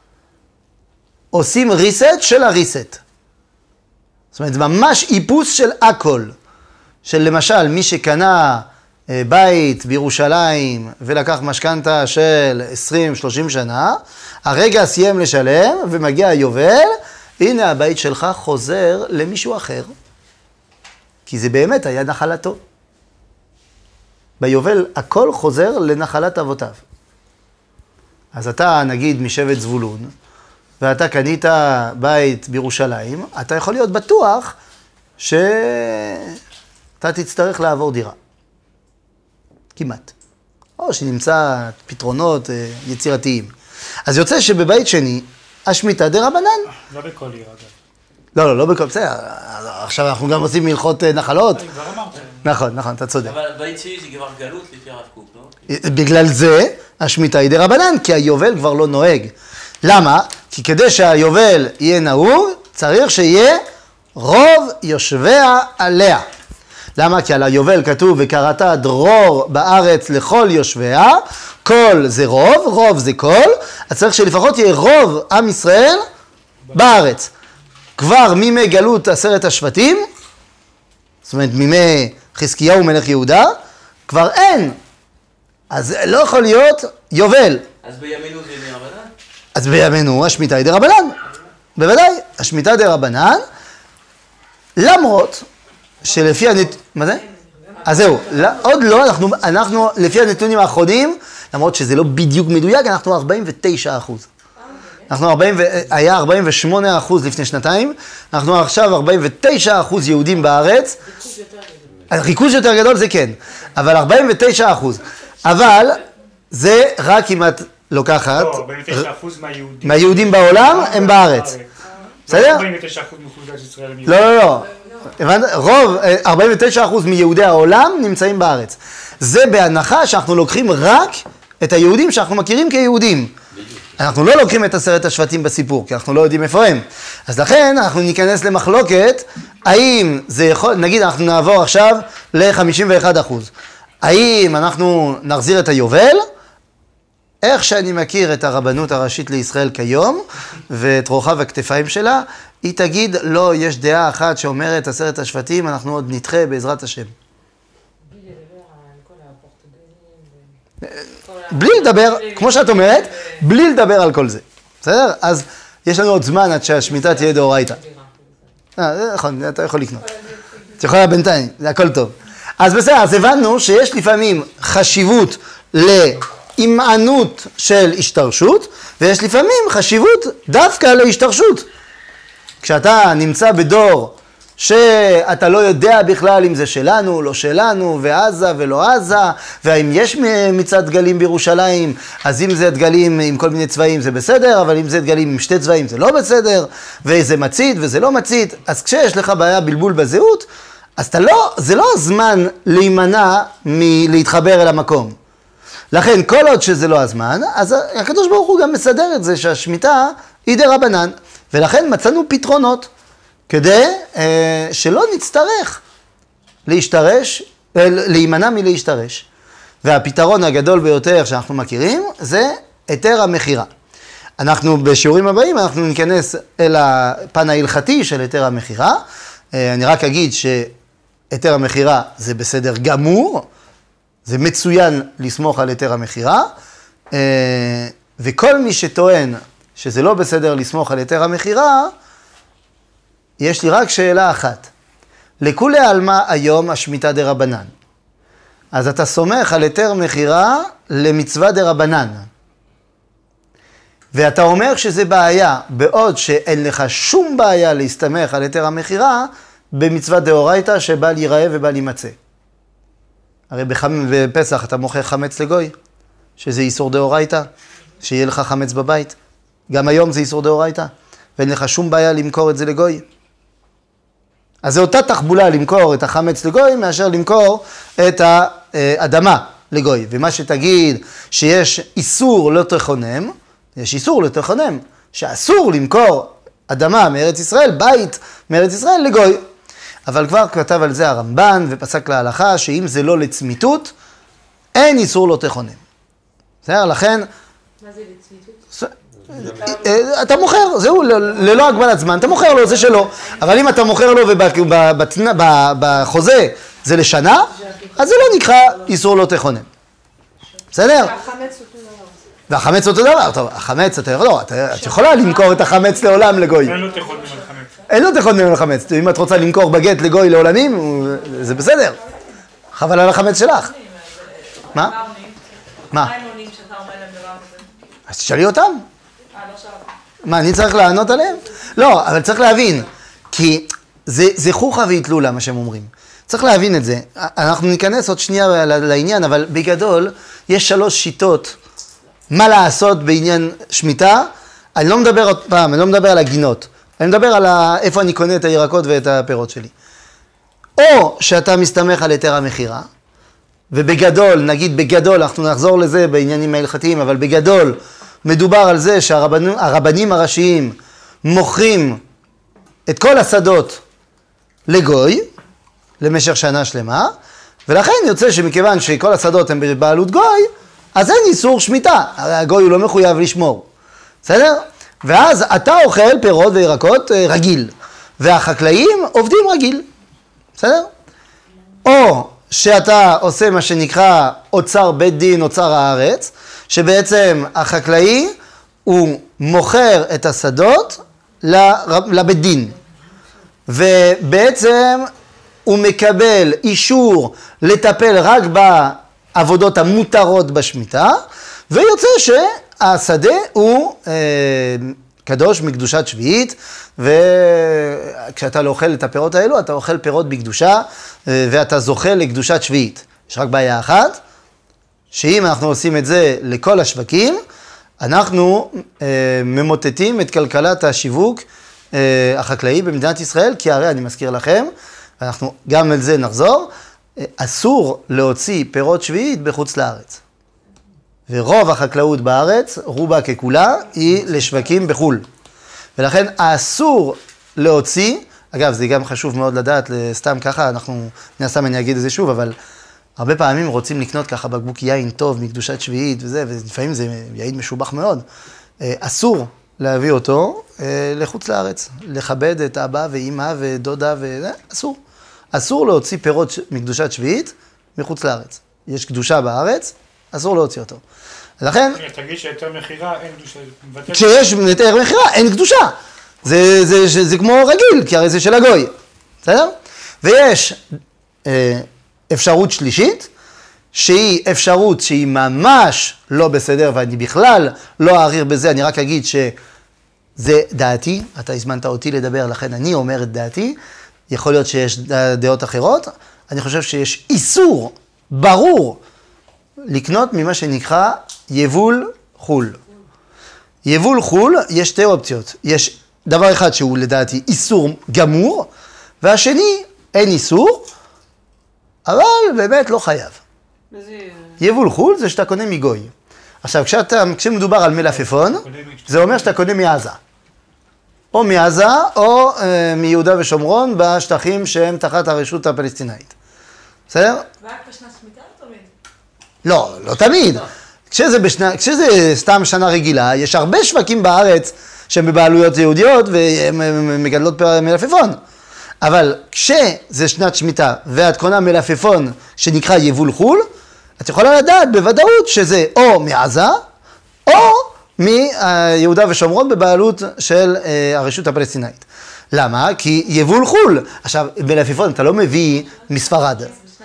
S1: עושים ריסט של הריסט. זאת אומרת, זה ממש איפוס של הכל. של למשל, מי שקנה בית בירושלים ולקח משכנתה של עשרים שלושים שנה, הרגע סיים לשלם ומגיע היובל, הנה הבית שלך חוזר למישהו אחר. כי זה באמת היה נחלתו. ביובל הכל חוזר לנחלת אבותיו. אז אתה נגיד משבט זבולון, ואתה קנית בית בירושלים, אתה יכול להיות בטוח שאתה תצטרך לעבור דירה. כמעט. או שנמצא פתרונות יצירתיים. אז יוצא שבבית שני, השמיטה דרבנן.
S5: לא בכל עיר, אגב.
S1: לא, לא, לא בכל, בסדר. עכשיו אנחנו גם עושים מלכות נחלות.
S5: כבר אמרת.
S1: נכון, נכון, אתה צודק.
S6: אבל בית שני זה כבר גלות לפי הרב קוק, לא?
S1: בגלל זה, השמיטה היא דרבנן, כי היובל כבר לא נוהג. למה? כי כדי שהיובל יהיה נהוג, צריך שיהיה רוב יושביה עליה. למה? כי על היובל כתוב, וקראת דרור בארץ לכל יושביה, כל זה רוב, רוב זה כל, אז צריך שלפחות יהיה רוב עם ישראל בארץ. כבר מימי גלות עשרת השבטים, זאת אומרת מימי חזקיהו מלך יהודה, כבר אין. אז לא יכול להיות יובל.
S6: אז בימינו זה דרבנן?
S1: אז בימינו השמיטה היא דרבנן. בוודאי, השמיטה דרבנן, למרות שלפי הנת... מה זה? אז זהו, עוד לא, אנחנו, אנחנו לפי הנתונים האחרונים, למרות שזה לא בדיוק מדויק, אנחנו ארבעים ותשעה אחוז. אנחנו ארבעים, היה ארבעים ושמונה אחוז לפני שנתיים, אנחנו עכשיו ארבעים ותשעה אחוז יהודים בארץ.
S5: ריכוז יותר גדול.
S1: ריכוז יותר גדול זה כן, אבל ארבעים ותשעה אחוז. אבל זה רק אם את לוקחת...
S2: לא, ארבעים ותשעה אחוז מהיהודים.
S1: מהיהודים בעולם הם בארץ. בסדר?
S2: ארבעים ותשעה אחוז מאוכלוסיית ישראל הם
S1: לא, לא, לא. הבנת? רוב, ארבעים ותשעה אחוז מיהודי העולם נמצאים בארץ. זה בהנחה שאנחנו לוקחים רק את היהודים שאנחנו מכירים כיהודים. אנחנו לא לוקחים את עשרת השבטים בסיפור, כי אנחנו לא יודעים איפה הם. אז לכן אנחנו ניכנס למחלוקת, האם זה יכול, נגיד אנחנו נעבור עכשיו ל-חמישים ואחד אחוז. האם אנחנו נחזיר את היובל? איך שאני מכיר את הרבנות הראשית לישראל כיום, ואת רוחב הכתפיים שלה, היא תגיד, לא, יש דעה אחת שאומרת עשרת השבטים, אנחנו עוד נדחה בעזרת השם. בלי לדבר, כמו שאת אומרת, בלי לדבר על כל זה. בסדר? אז יש לנו עוד זמן עד שהשמיטה תהיה דאורייתא. אה, זה נכון, אתה יכול לקנות. את יכולה בינתיים, זה הכל טוב. אז בסדר, אז הבנו שיש לפעמים חשיבות להימענות של השתרשות, ויש לפעמים חשיבות דווקא להשתרשות. כשאתה נמצא בדור שאתה לא יודע בכלל אם זה שלנו, לא שלנו, ועזה ולא עזה, והאם יש מצעד דגלים בירושלים, אז אם זה דגלים עם כל מיני צבעים זה בסדר, אבל אם זה דגלים עם שתי צבעים זה לא בסדר, וזה מצית וזה לא מצית, אז כשיש לך בעיה בלבול בזהות, אז אתה לא, זה לא הזמן להימנע מלהתחבר אל המקום. לכן, כל עוד שזה לא הזמן, אז הקדוש ברוך הוא גם מסדר את זה שהשמיטה היא דרבנן, ולכן מצאנו פתרונות. כדי אה, שלא נצטרך להשתרש, אה, להימנע מלהשתרש. והפתרון הגדול ביותר שאנחנו מכירים זה היתר המכירה. אנחנו בשיעורים הבאים, אנחנו ניכנס אל הפן ההלכתי של היתר המכירה. אה, אני רק אגיד שהיתר המכירה זה בסדר גמור, זה מצוין לסמוך על היתר המכירה, אה, וכל מי שטוען שזה לא בסדר לסמוך על היתר המכירה, יש לי רק שאלה אחת. לכולי עלמא היום השמיטה דרבנן. אז אתה סומך על היתר מכירה למצווה דרבנן. ואתה אומר שזה בעיה, בעוד שאין לך שום בעיה להסתמך על היתר המכירה במצווה דאורייתא שבל ייראה ובל יימצא. הרי בחמ... בפסח אתה מוכר חמץ לגוי, שזה איסור דאורייתא, שיהיה לך חמץ בבית. גם היום זה איסור דאורייתא, ואין לך שום בעיה למכור את זה לגוי. אז זו אותה תחבולה למכור את החמץ לגוי, מאשר למכור את האדמה לגוי. ומה שתגיד שיש איסור לא תכונם, יש איסור לא תכונם, שאסור למכור אדמה מארץ ישראל, בית מארץ ישראל לגוי. אבל כבר כתב על זה הרמב"ן ופסק להלכה, שאם זה לא לצמיתות, אין איסור לא תכונם. בסדר? לכן...
S5: מה זה לצמיתות?
S1: אתה מוכר, זהו, ללא הגבלת זמן, אתה מוכר לו, זה שלו. אבל אם אתה מוכר לו ובחוזה זה לשנה, אז זה לא נקרא איסור לא תכונן. בסדר?
S5: והחמץ אותו דבר.
S1: והחמץ אותו דבר, טוב, החמץ, אתה לא, את יכולה למכור את החמץ לעולם לגוי.
S2: אין לו תכונן על חמץ.
S1: אין לו תכונן על חמץ, אם את רוצה למכור בגט לגוי לעולמים, זה בסדר. חבל על החמץ שלך. מה? מה?
S5: מה הם עונים שאתה אומר להם דבר כזה?
S1: אז תשאלי אותם.
S5: לא שאלתי.
S1: מה, אני צריך לענות עליהם? לא, אבל צריך להבין, כי זה, זה חוכה והתלולה, מה שהם אומרים. צריך להבין את זה. אנחנו ניכנס עוד שנייה לעניין, אבל בגדול, יש שלוש שיטות מה לעשות בעניין שמיטה. אני לא מדבר עוד פעם, אני לא מדבר על הגינות. אני מדבר על איפה אני קונה את הירקות ואת הפירות שלי. או שאתה מסתמך על היתר המכירה, ובגדול, נגיד בגדול, אנחנו נחזור לזה בעניינים ההלכתיים, אבל בגדול, מדובר על זה שהרבנים הראשיים מוכרים את כל השדות לגוי, למשך שנה שלמה, ולכן יוצא שמכיוון שכל השדות הם בבעלות גוי, אז אין איסור שמיטה, הרי הגוי הוא לא מחויב לשמור, בסדר? ואז אתה אוכל פירות וירקות רגיל, והחקלאים עובדים רגיל, בסדר? או שאתה עושה מה שנקרא אוצר בית דין, אוצר הארץ, שבעצם החקלאי הוא מוכר את השדות לבית דין, ובעצם הוא מקבל אישור לטפל רק בעבודות המותרות בשמיטה, ויוצא השדה הוא אה, קדוש מקדושת שביעית, וכשאתה לא אוכל את הפירות האלו, אתה אוכל פירות בקדושה, אה, ואתה זוכה לקדושת שביעית. יש רק בעיה אחת, שאם אנחנו עושים את זה לכל השווקים, אנחנו אה, ממוטטים את כלכלת השיווק אה, החקלאי במדינת ישראל, כי הרי אני מזכיר לכם, ואנחנו גם על זה נחזור, אה, אסור להוציא פירות שביעית בחוץ לארץ. ורוב החקלאות בארץ, רובה ככולה, היא לשווקים בחול. ולכן אסור להוציא, אגב זה גם חשוב מאוד לדעת, סתם ככה, אנחנו, נסתם אני אגיד את זה שוב, אבל הרבה פעמים רוצים לקנות ככה בקבוק יין טוב מקדושת שביעית וזה, ולפעמים זה יין משובח מאוד. אסור להביא אותו לחוץ לארץ, לכבד את אבא ואמא ודודה וזה, אסור. אסור להוציא פירות מקדושת שביעית מחוץ לארץ. יש קדושה בארץ, אסור להוציא אותו. לכן...
S2: תגיד שהיתר מחירה אין קדושה.
S1: כשיש היתר מחירה אין קדושה. זה, זה, זה, זה כמו רגיל, כי הרי זה של הגוי. בסדר? ויש אה, אפשרות שלישית, שהיא אפשרות שהיא ממש לא בסדר, ואני בכלל לא אעריר בזה, אני רק אגיד שזה דעתי, אתה הזמנת אותי לדבר, לכן אני אומר את דעתי, יכול להיות שיש דעות אחרות, אני חושב שיש איסור ברור לקנות ממה שנקרא יבול חול. יבול חול, יש שתי אופציות. יש דבר אחד שהוא לדעתי איסור גמור, והשני אין איסור, אבל באמת לא חייב. יבול חול זה שאתה קונה מגוי. עכשיו, כשאתה, כשמדובר על מלפפון, זה אומר שאתה קונה מעזה. או מעזה, או אה, מיהודה ושומרון, בשטחים שהם תחת הרשות הפלסטינאית. בסדר?
S5: רק בשנת שמיטה או תמיד?
S1: לא, לא תמיד. כשזה, בשנה, כשזה סתם שנה רגילה, יש הרבה שווקים בארץ שהם בבעלויות יהודיות והן מגדלות מלפפון. אבל כשזה שנת שמיטה ואת קונה מלפפון שנקרא יבול חול, את יכולה לדעת בוודאות שזה או מעזה או מיהודה ושומרון בבעלות של הרשות הפלסטינאית. למה? כי יבול חול. עכשיו, מלפפון אתה לא מביא מספרד.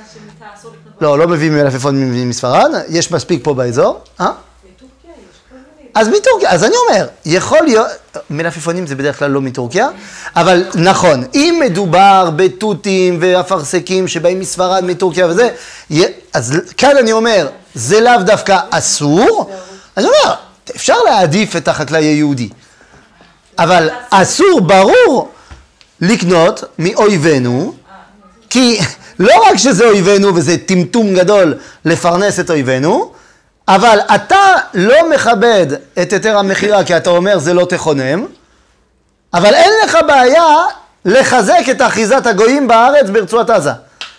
S1: לא, לא מביא מלפפון מספרד, יש מספיק פה באזור. אה?
S5: מטורקיה יש כל מיני.
S1: אז מטורקיה, אז אני אומר, יכול להיות, מלפפונים זה בדרך כלל לא מטורקיה, אבל נכון, אם מדובר בתותים ואפרסקים שבאים מספרד, מטורקיה וזה, אז כאן אני אומר, זה לאו דווקא אסור, אני אומר, אפשר להעדיף את החקלאי היהודי, אבל אסור ברור לקנות מאויבינו, כי לא רק שזה אויבינו וזה טמטום גדול לפרנס את אויבינו, אבל אתה לא מכבד את היתר המחירה כי אתה אומר זה לא תכונם, אבל אין לך בעיה לחזק את אחיזת הגויים בארץ ברצועת עזה.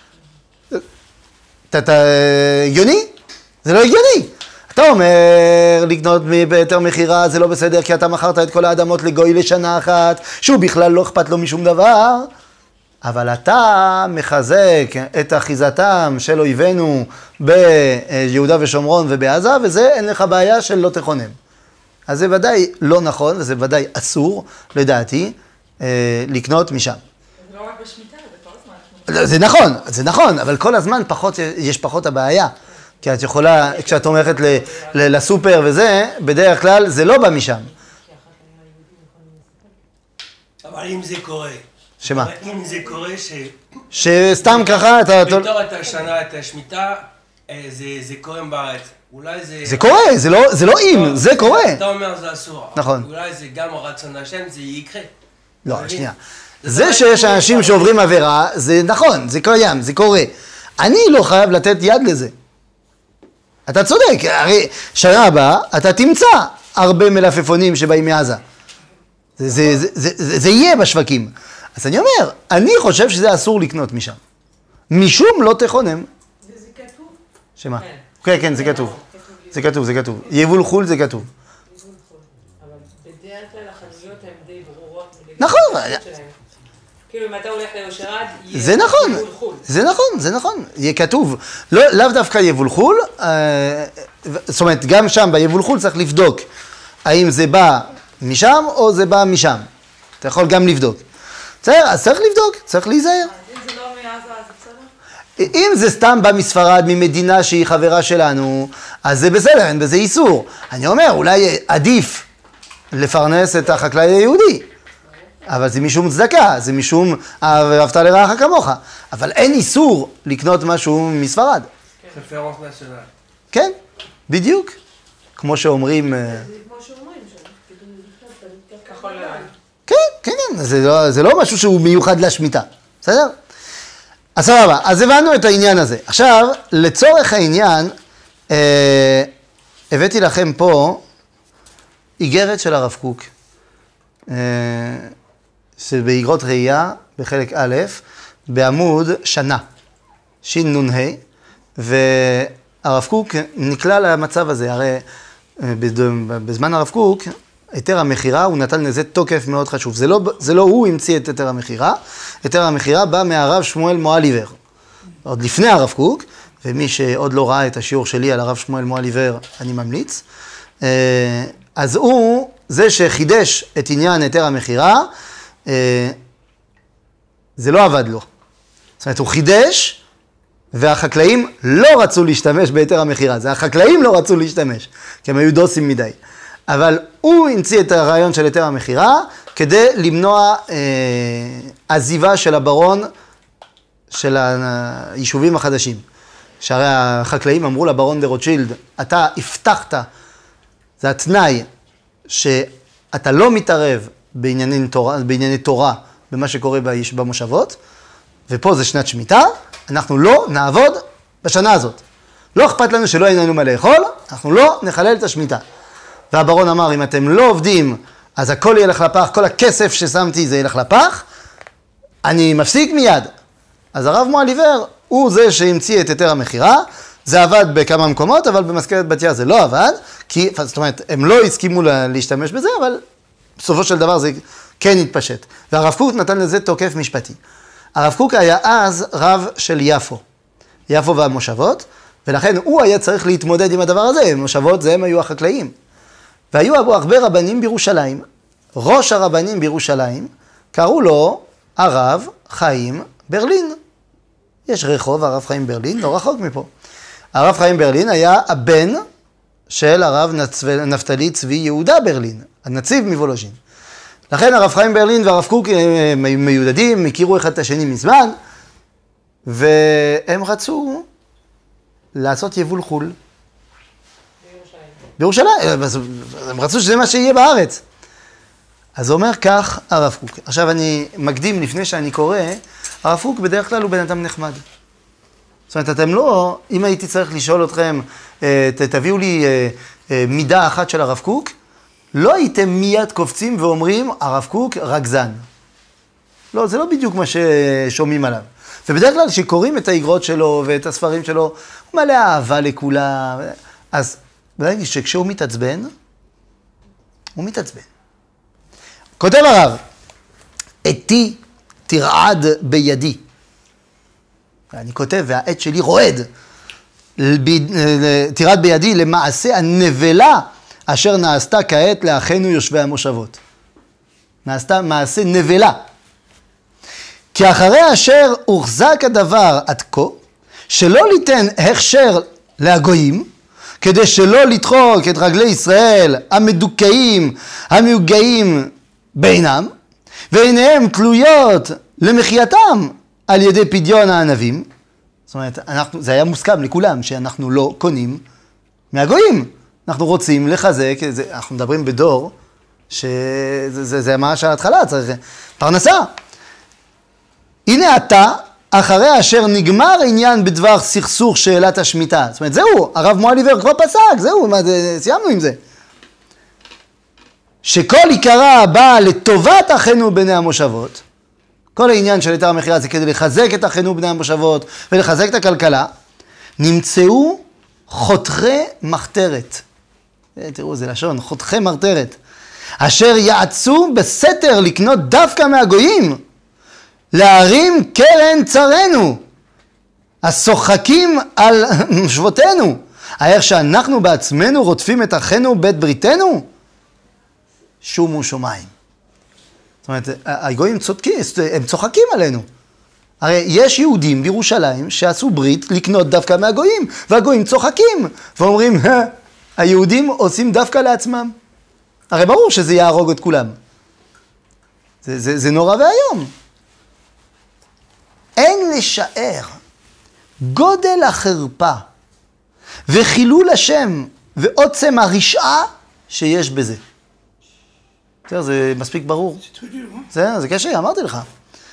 S1: אתה הגיוני? זה לא הגיוני. אתה אומר לקנות בהיתר מחירה זה לא בסדר כי אתה מכרת את כל האדמות לגוי לשנה אחת, שהוא בכלל לא אכפת לו משום דבר, אבל אתה מחזק את אחיזתם של אויבינו ביהודה ושומרון ובעזה, וזה אין לך בעיה של לא תכונם. אז זה ודאי לא נכון, וזה ודאי אסור, לדעתי, לקנות משם.
S5: זה לא רק בשמיטה, זה כל הזמן.
S1: זה נכון, זה נכון, אבל כל הזמן פחות, יש פחות הבעיה. כי את יכולה, כשאת הולכת לסופר וזה, בדרך כלל זה לא בא משם.
S3: אבל אם זה קורה.
S1: שמה?
S3: אם זה קורה ש...
S1: שסתם ככה אתה...
S3: בתור את השנה, את השמיטה, זה קורה בארץ. אולי זה...
S1: זה קורה, זה לא, זה לא אם, זה קורה.
S3: אתה אומר זה אסור.
S1: נכון.
S3: אולי זה גם רצון השם, זה יקרה.
S1: לא, שנייה. זה שיש אנשים שעוברים עבירה, זה נכון, זה קיים, זה קורה. אני לא חייב לתת יד לזה. אתה צודק, הרי שנה הבאה אתה תמצא הרבה מלפפונים שבאים מעזה. זה, זה, זה, זה, זה, זה יהיה בשווקים. אז אני אומר, אני חושב שזה אסור לקנות משם. משום לא תכונם.
S5: וזה כתוב?
S1: שמה? כן, כן, זה כתוב. זה כתוב, זה כתוב. יבול חול זה כתוב.
S5: יבול חול. אבל בדרך כלל החנויות הן די ברורות.
S1: נכון.
S5: כאילו אם אתה הולך ליושרד,
S1: זה נכון, זה נכון, זה נכון, יהיה כתוב. לא, לאו דווקא יבול חול, זאת אומרת, גם שם ביבול חול צריך לבדוק האם זה בא משם או זה בא משם. אתה יכול גם לבדוק. בסדר, אז צריך לבדוק, צריך להיזהר.
S5: אם זה לא מעזה, זה בסדר?
S1: אם זה סתם בא מספרד, ממדינה שהיא חברה שלנו, אז זה בסדר, אין בזה איסור. אני אומר, אולי עדיף לפרנס את החקלאי היהודי, אבל זה משום צדקה, זה משום ואהבת לרעך כמוך. אבל אין איסור לקנות משהו מספרד.
S3: רפרנס נשיונל.
S1: כן, בדיוק. כמו שאומרים...
S5: זה כמו שאומרים, שכאילו, כחול לבן.
S1: כן, כן, כן, זה לא, זה לא משהו שהוא מיוחד לשמיטה, בסדר? אז סבבה, אז הבנו את העניין הזה. עכשיו, לצורך העניין, אה, הבאתי לכם פה איגרת של הרב קוק, אה, שבאיגרות ראייה, בחלק א', בעמוד שנה, שין נ"ה, והרב קוק נקלע למצב הזה, הרי בזמן הרב קוק, היתר המכירה, הוא נתן לזה תוקף מאוד חשוב. זה לא, זה לא הוא המציא את היתר המכירה, היתר המכירה בא מהרב שמואל מועליבר, עוד לפני הרב קוק, ומי שעוד לא ראה את השיעור שלי על הרב שמואל מועליבר, אני ממליץ. אז הוא, זה שחידש את עניין היתר המכירה, זה לא עבד לו. זאת אומרת, הוא חידש, והחקלאים לא רצו להשתמש ביתר המכירה. זה החקלאים לא רצו להשתמש, כי הם היו דוסים מדי. אבל הוא המציא את הרעיון של היתר המכירה, כדי למנוע אה, עזיבה של הברון של היישובים החדשים. שהרי החקלאים אמרו לברון דה רוטשילד, אתה הבטחת, זה התנאי, שאתה לא מתערב בענייני תורה, בענייני תורה, במה שקורה במושבות, ופה זה שנת שמיטה, אנחנו לא נעבוד בשנה הזאת. לא אכפת לנו שלא אין לנו מה לאכול, אנחנו לא נחלל את השמיטה. והברון אמר, אם אתם לא עובדים, אז הכל ילך לפח, כל הכסף ששמתי זה ילך לפח, אני מפסיק מיד. אז הרב מועליבר הוא זה שהמציא את היתר המכירה, זה עבד בכמה מקומות, אבל במזכרת בתיה זה לא עבד, כי, זאת אומרת, הם לא הסכימו להשתמש בזה, אבל בסופו של דבר זה כן התפשט. והרב קוק נתן לזה תוקף משפטי. הרב קוק היה אז רב של יפו, יפו והמושבות, ולכן הוא היה צריך להתמודד עם הדבר הזה, מושבות זה הם היו החקלאים. והיו הרבה רבנים בירושלים, ראש הרבנים בירושלים, קראו לו הרב חיים ברלין. יש רחוב הרב חיים ברלין, לא רחוק מפה. הרב חיים ברלין היה הבן של הרב נפתלי צבי יהודה ברלין, הנציב מוולוז'ין. לכן הרב חיים ברלין והרב קוק הם מיודדים, הכירו אחד את השני מזמן, והם רצו לעשות יבול חול. בירושלים. בירושלים, הם רצו שזה מה שיהיה בארץ. אז הוא אומר כך הרב קוק. עכשיו אני מקדים לפני שאני קורא, הרב קוק בדרך כלל הוא בן אדם נחמד. זאת אומרת, אתם לא, אם הייתי צריך לשאול אתכם, תביאו לי מידה אחת של הרב קוק, לא הייתם מיד קופצים ואומרים, הרב קוק רגזן. לא, זה לא בדיוק מה ששומעים עליו. ובדרך כלל שקוראים את האגרות שלו ואת הספרים שלו, הוא מלא אהבה לכולם. אז ברגע שכשהוא מתעצבן, הוא מתעצבן. כותב הרב, עתי תרעד בידי. אני כותב, והעת שלי רועד. תרעד בידי למעשה הנבלה אשר נעשתה כעת לאחינו יושבי המושבות. נעשתה מעשה נבלה. כי אחרי אשר הוחזק הדבר עד כה, שלא ליתן הכשר להגויים, כדי שלא לדחוק את רגלי ישראל המדוכאים, המיוגעים בינם, ועיניהם תלויות למחייתם על ידי פדיון הענבים. זאת אומרת, אנחנו, זה היה מוסכם לכולם שאנחנו לא קונים מהגויים. אנחנו רוצים לחזק, זה, אנחנו מדברים בדור, שזה זה, זה ממש ההתחלה, צריך פרנסה. הנה אתה, אחרי אשר נגמר עניין בדבר סכסוך שאלת השמיטה. זאת אומרת, זהו, הרב מועליבר כבר פסק, זהו, מה, זה, סיימנו עם זה. שכל עיקרה באה לטובת אחינו בני המושבות, כל העניין של היתר המכירה זה כדי לחזק את אחינו בני המושבות ולחזק את הכלכלה, נמצאו חותכי מחתרת. תראו, זה לשון, חותכי מחתרת. אשר יעצו בסתר לקנות דווקא מהגויים, להרים קרן צרינו, השוחקים על מושבותינו, איך שאנחנו בעצמנו רודפים את אחינו בית בריתנו, שומו שמיים. זאת אומרת, הגויים צודקים, הם צוחקים עלינו. הרי יש יהודים בירושלים שעשו ברית לקנות דווקא מהגויים, והגויים צוחקים ואומרים, היהודים עושים דווקא לעצמם. הרי ברור שזה יהרוג את כולם. זה, זה, זה נורא והיום. אין לשער גודל החרפה וחילול השם ועוצם הרשעה שיש בזה. בסדר, זה מספיק ברור. זה, זה קשה, אמרתי לך.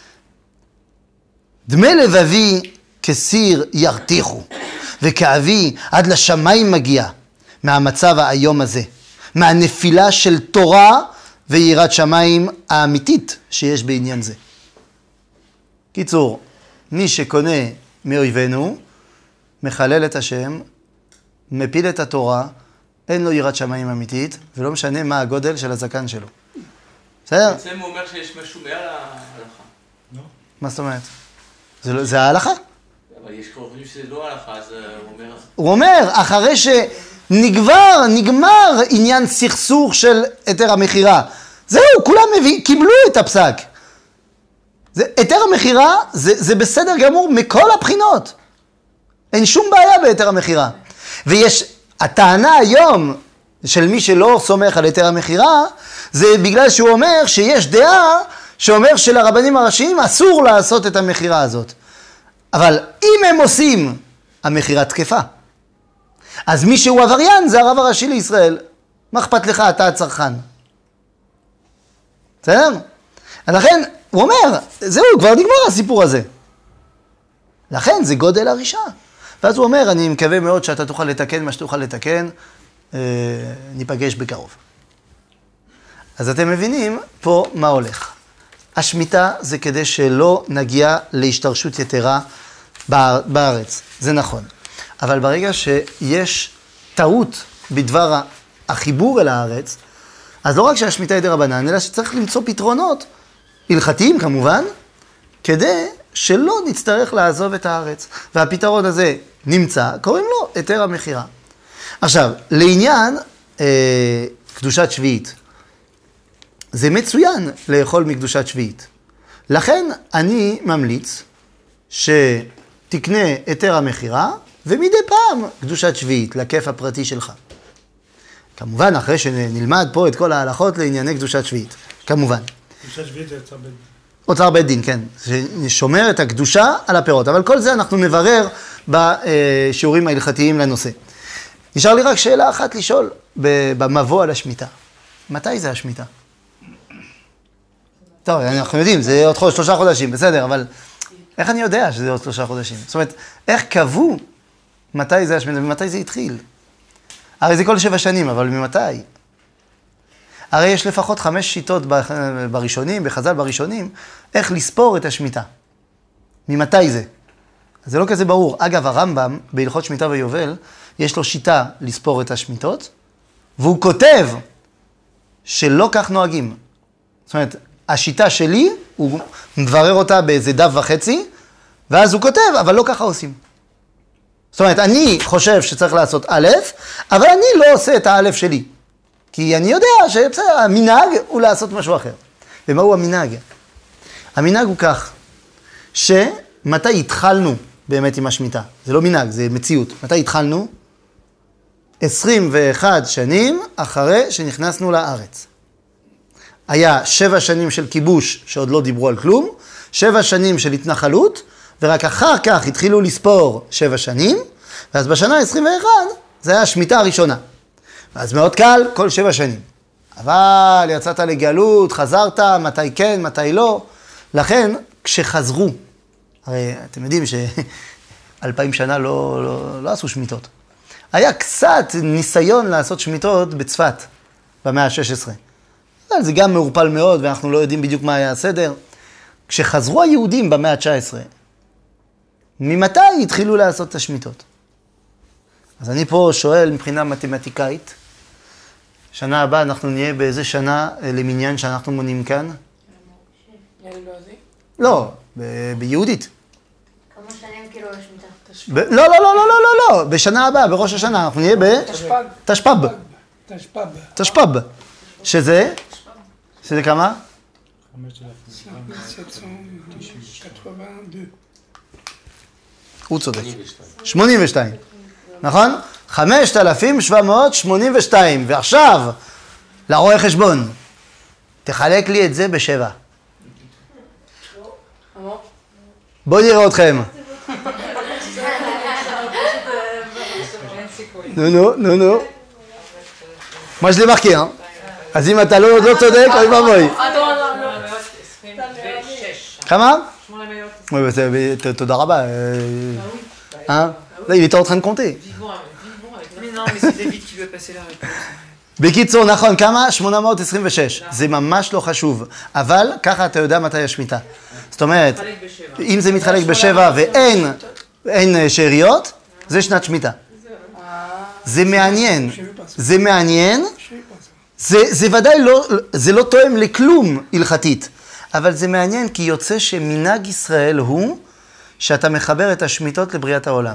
S1: דמי לבבי כסיר ירתיחו, וכאבי עד לשמיים מגיע מהמצב האיום הזה, מהנפילה של תורה ויראת שמיים האמיתית שיש בעניין זה. קיצור, מי שקונה מאויבינו, מחלל את השם, מפיל את התורה, אין לו יראת שמיים אמיתית, ולא משנה מה הגודל של הזקן שלו. בסדר?
S6: בעצם הוא אומר שיש משהו מעל ההלכה.
S1: מה זאת אומרת? זה, לא, זה ההלכה.
S6: אבל יש חושבים שזה לא ההלכה, אז הוא אומר...
S1: הוא אומר, אחרי שנגבר, נגמר עניין סכסוך של היתר המכירה. זהו, כולם מביא, קיבלו את הפסק. זה, היתר המכירה זה, זה בסדר גמור מכל הבחינות. אין שום בעיה בהיתר המכירה. ויש, הטענה היום של מי שלא סומך על היתר המכירה, זה בגלל שהוא אומר שיש דעה שאומר שלרבנים הראשיים אסור לעשות את המכירה הזאת. אבל אם הם עושים, המכירה תקפה. אז מי שהוא עבריין זה הרב הראשי לישראל. מה אכפת לך, אתה הצרכן? בסדר? לכן, הוא אומר, זהו, כבר נגמר הסיפור הזה. לכן זה גודל הרשעה. ואז הוא אומר, אני מקווה מאוד שאתה תוכל לתקן מה שתוכל לתקן, אה, ניפגש בקרוב. אז אתם מבינים פה מה הולך. השמיטה זה כדי שלא נגיע להשתרשות יתרה בארץ, זה נכון. אבל ברגע שיש טעות בדבר החיבור אל הארץ, אז לא רק שהשמיטה היא דרבנן, אלא שצריך למצוא פתרונות, הלכתיים כמובן, כדי שלא נצטרך לעזוב את הארץ. והפתרון הזה נמצא, קוראים לו היתר המכירה. עכשיו, לעניין אה, קדושת שביעית, זה מצוין לאכול מקדושת שביעית. לכן אני ממליץ שתקנה היתר המכירה, ומדי פעם קדושת שביעית, לכיף הפרטי שלך. כמובן, אחרי שנלמד פה את כל ההלכות לענייני קדושת שביעית. כמובן.
S2: קדושת שביעית זה אוצר בית דין.
S1: אוצר בית דין, כן. ששומר את הקדושה על הפירות. אבל כל זה אנחנו נברר בשיעורים ההלכתיים לנושא. נשאר לי רק שאלה אחת לשאול במבוא על השמיטה. מתי זה השמיטה? טוב, אנחנו יודעים, זה עוד חודש, שלושה חודשים, בסדר, אבל איך אני יודע שזה עוד שלושה חודשים? זאת אומרת, איך קבעו מתי זה השמיטה ומתי זה התחיל? הרי זה כל שבע שנים, אבל ממתי? הרי יש לפחות חמש שיטות בראשונים, בחז"ל בראשונים, איך לספור את השמיטה. ממתי זה? זה לא כזה ברור. אגב, הרמב"ם, בהלכות שמיטה ויובל, יש לו שיטה לספור את השמיטות, והוא כותב שלא כך נוהגים. זאת אומרת, השיטה שלי, הוא מברר אותה באיזה דף וחצי, ואז הוא כותב, אבל לא ככה עושים. זאת אומרת, אני חושב שצריך לעשות א', אבל אני לא עושה את הא' שלי. כי אני יודע שהמנהג הוא לעשות משהו אחר. ומהו המנהג? המנהג הוא כך, שמתי התחלנו באמת עם השמיטה? זה לא מנהג, זה מציאות. מתי התחלנו? עשרים ואחת שנים אחרי שנכנסנו לארץ. היה שבע שנים של כיבוש שעוד לא דיברו על כלום, שבע שנים של התנחלות, ורק אחר כך התחילו לספור שבע שנים, ואז בשנה עשרים ואחת זה היה השמיטה הראשונה. ואז מאוד קל, כל שבע שנים. אבל יצאת לגלות, חזרת, מתי כן, מתי לא. לכן, כשחזרו, הרי אתם יודעים שאלפיים שנה לא, לא, לא עשו שמיטות. היה קצת ניסיון לעשות שמיטות בצפת, במאה ה-שש עשרה. זה גם מעורפל מאוד, ואנחנו לא יודעים בדיוק מה היה הסדר. כשחזרו היהודים במאה ה-תשע עשרה, ממתי התחילו לעשות את השמיטות? אז אני פה שואל מבחינה מתמטיקאית, שנה הבאה אנחנו נהיה באיזה שנה למניין שאנחנו מונים כאן? לא, ב- ביהודית.
S4: כמה שנים כאילו לשמיטה?
S1: ב- לא, לא, לא, לא, לא, לא, לא, בשנה הבאה, בראש השנה, אנחנו נהיה
S2: תשפ"ג.
S1: בתשפ"ב.
S2: תשפ"ב.
S1: תשפ"ב. שזה? שזה כמה?
S2: cinq mille sept cent quatre-vingt-deux.
S1: הוא צודק. שמונים ושתיים. נכון? חמשת אלפים שבע מאות שמונים ושתיים. ועכשיו, לרואה חשבון. תחלק לי את זה בשבע. בואו נראה אתכם. נו, נו, נו, נו. מה שלי מחכי, אה? אז אם אתה לא צודק, אוי ואבוי. כמה? תודה רבה. אה? là, il était en train de compter.
S5: Mais non, mais c'est David qui lui a passé la réponse.
S1: בקיצור, נכון, כמה? שמונה מאות עשרים ושש. זה ממש לא חשוב. אבל ככה אתה יודע מתי השמיטה. זאת אומרת, אם זה מתחלק בשבע ואין אין שאריות, זה שנת שמיטה. זה מעניין. זה מעניין. זה, זה ודאי לא, זה לא תואם לכלום הלכתית. אבל זה מעניין כי יוצא שמנהג ישראל הוא שאתה מחבר את השמיטות לבריאת העולם.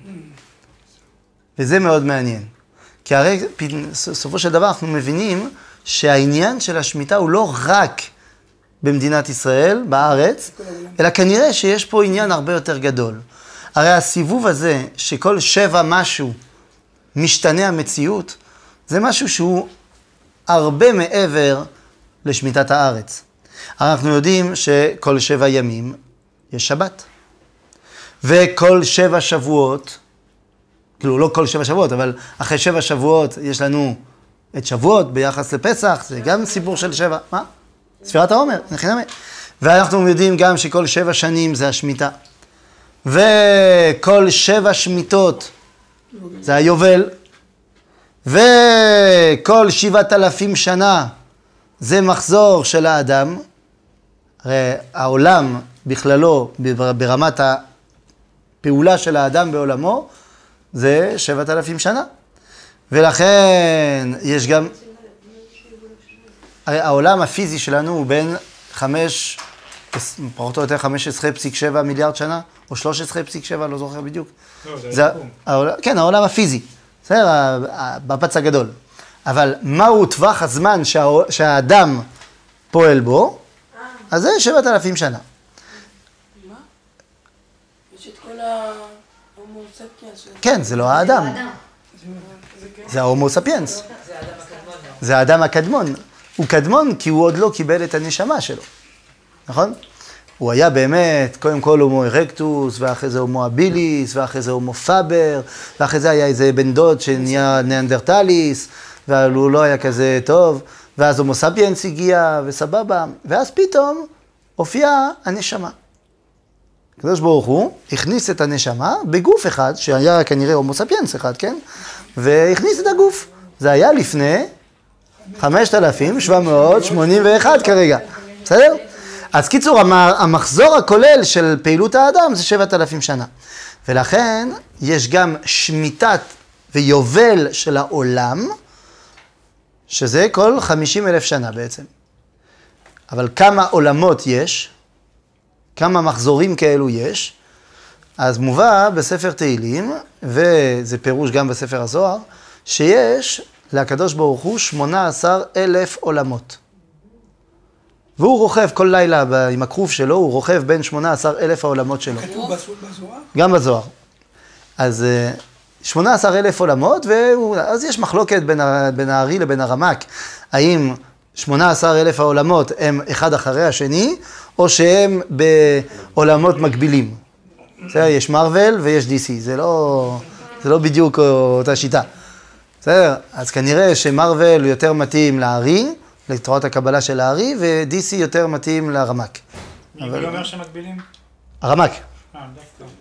S1: וזה מאוד מעניין. כי הרי סופו של דבר אנחנו מבינים שהעניין של השמיטה הוא לא רק במדינת ישראל, בארץ, אלא כנראה שיש פה עניין הרבה יותר גדול. הרי הסיבוב הזה שכל שבע משהו משתנה המציאות, זה משהו שהוא הרבה מעבר לשמיטת הארץ. אנחנו יודעים שכל שבע ימים יש שבת. וכל שבע שבועות, כאילו לא כל שבע שבועות, אבל אחרי שבע שבועות יש לנו את שבועות ביחס לפסח, זה גם סיפור של שבע, מה? ספירת העומר, נכנמי. ואנחנו יודעים גם שכל שבע שנים זה השמיטה. וכל שבע שמיטות זה היובל. וכל שבעת אלפים שנה זה מחזור של האדם. הרי העולם בכללו, ברמת הפעולה של האדם בעולמו, זה שבעת אלפים שנה. ולכן יש גם... הרי העולם הפיזי שלנו הוא בין חמש, פחות או יותר חמש עשרה נקודה שבע מיליארד שנה, או שלוש עשרה נקודה שבע, לא זוכר בדיוק.
S7: לא, זה
S1: העולם, כן, העולם הפיזי. בסדר, בפץ הגדול. אבל מהו טווח הזמן שה, שהאדם פועל בו? אז זה שבעת אלפים שנה.
S2: מה? יש את כל ההומו ספיאנס.
S1: כן, זה לא האדם. זה ההומו ספיאנס. זה האדם הקדמון. הוא קדמון כי הוא עוד לא קיבל את הנשמה שלו. נכון? הוא היה באמת, קודם כל הומו ארקטוס, ואחרי זה הומו הביליס, ואחרי זה הומו פאבר, ואחרי זה היה איזה בן דוד שנהיה ניאנדרטליס, והוא לא היה כזה טוב, ואז הומו ספיאנס הגיע, וסבבה, ואז פתאום הופיעה הנשמה. הקדוש ברוך הוא הכניס את הנשמה בגוף אחד, שהיה כנראה הומו ספיאנס אחד, כן? והכניס את הגוף. זה היה לפני חמשת אלפים שבע מאות שמונים ואחת כרגע. בסדר? אז קיצור, המחזור הכולל של פעילות האדם זה שבעת אלפים שנה. ולכן יש גם שמיטת ויובל של העולם, שזה כל חמישים אלף שנה בעצם. אבל כמה עולמות יש, כמה מחזורים כאלו יש, אז מובא בספר תהילים, וזה פירוש גם בספר הזוהר, שיש לקדוש ברוך הוא שמונה עשר אלף עולמות. והוא רוכב כל לילה עם הכרוב שלו, הוא רוכב בין שמונה עשר אלף העולמות שלו.
S2: כתוב בזוהר?
S1: גם בזוהר. אז שמונה עשר אלף עולמות, ואז יש מחלוקת בין, בין הארי לבין הרמק. האם שמונה עשר אלף העולמות הם אחד אחרי השני, או שהם בעולמות מקבילים. בסדר, יש מרוול ויש די סי, זה לא, זה לא בדיוק אותה שיטה. בסדר, אז כנראה שמרוול יותר מתאים לארי, לתורת הקבלה של הארי, ו-די סי יותר מתאים לרמק.
S7: מי אבל... אומר שמקבילים?
S1: הרמק.
S7: אה, דווקא.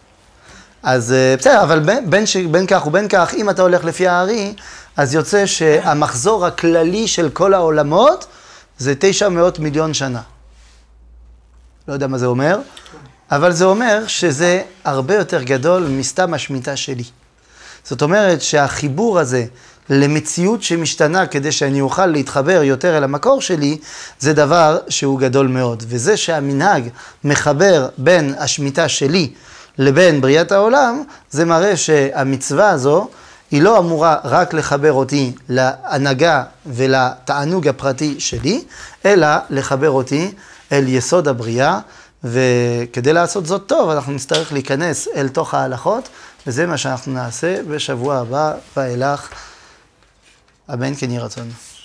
S1: אז בסדר, אבל בין, בין, ש... בין כך ובין כך, אם אתה הולך לפי הארי, אז יוצא שהמחזור הכללי של כל העולמות זה תשע מאות מיליון שנה. לא יודע מה זה אומר, אבל זה אומר שזה הרבה יותר גדול מסתם השמיטה שלי. זאת אומרת שהחיבור הזה למציאות שמשתנה כדי שאני אוכל להתחבר יותר אל המקור שלי, זה דבר שהוא גדול מאוד. וזה שהמנהג מחבר בין השמיטה שלי לבין בריאת העולם, זה מראה שהמצווה הזו היא לא אמורה רק לחבר אותי להנהגה ולתענוג הפרטי שלי, אלא לחבר אותי אל יסוד הבריאה, וכדי לעשות זאת טוב, אנחנו נצטרך להיכנס אל תוך ההלכות, וזה מה שאנחנו נעשה בשבוע הבא ואילך. אמן כן יהי רצון.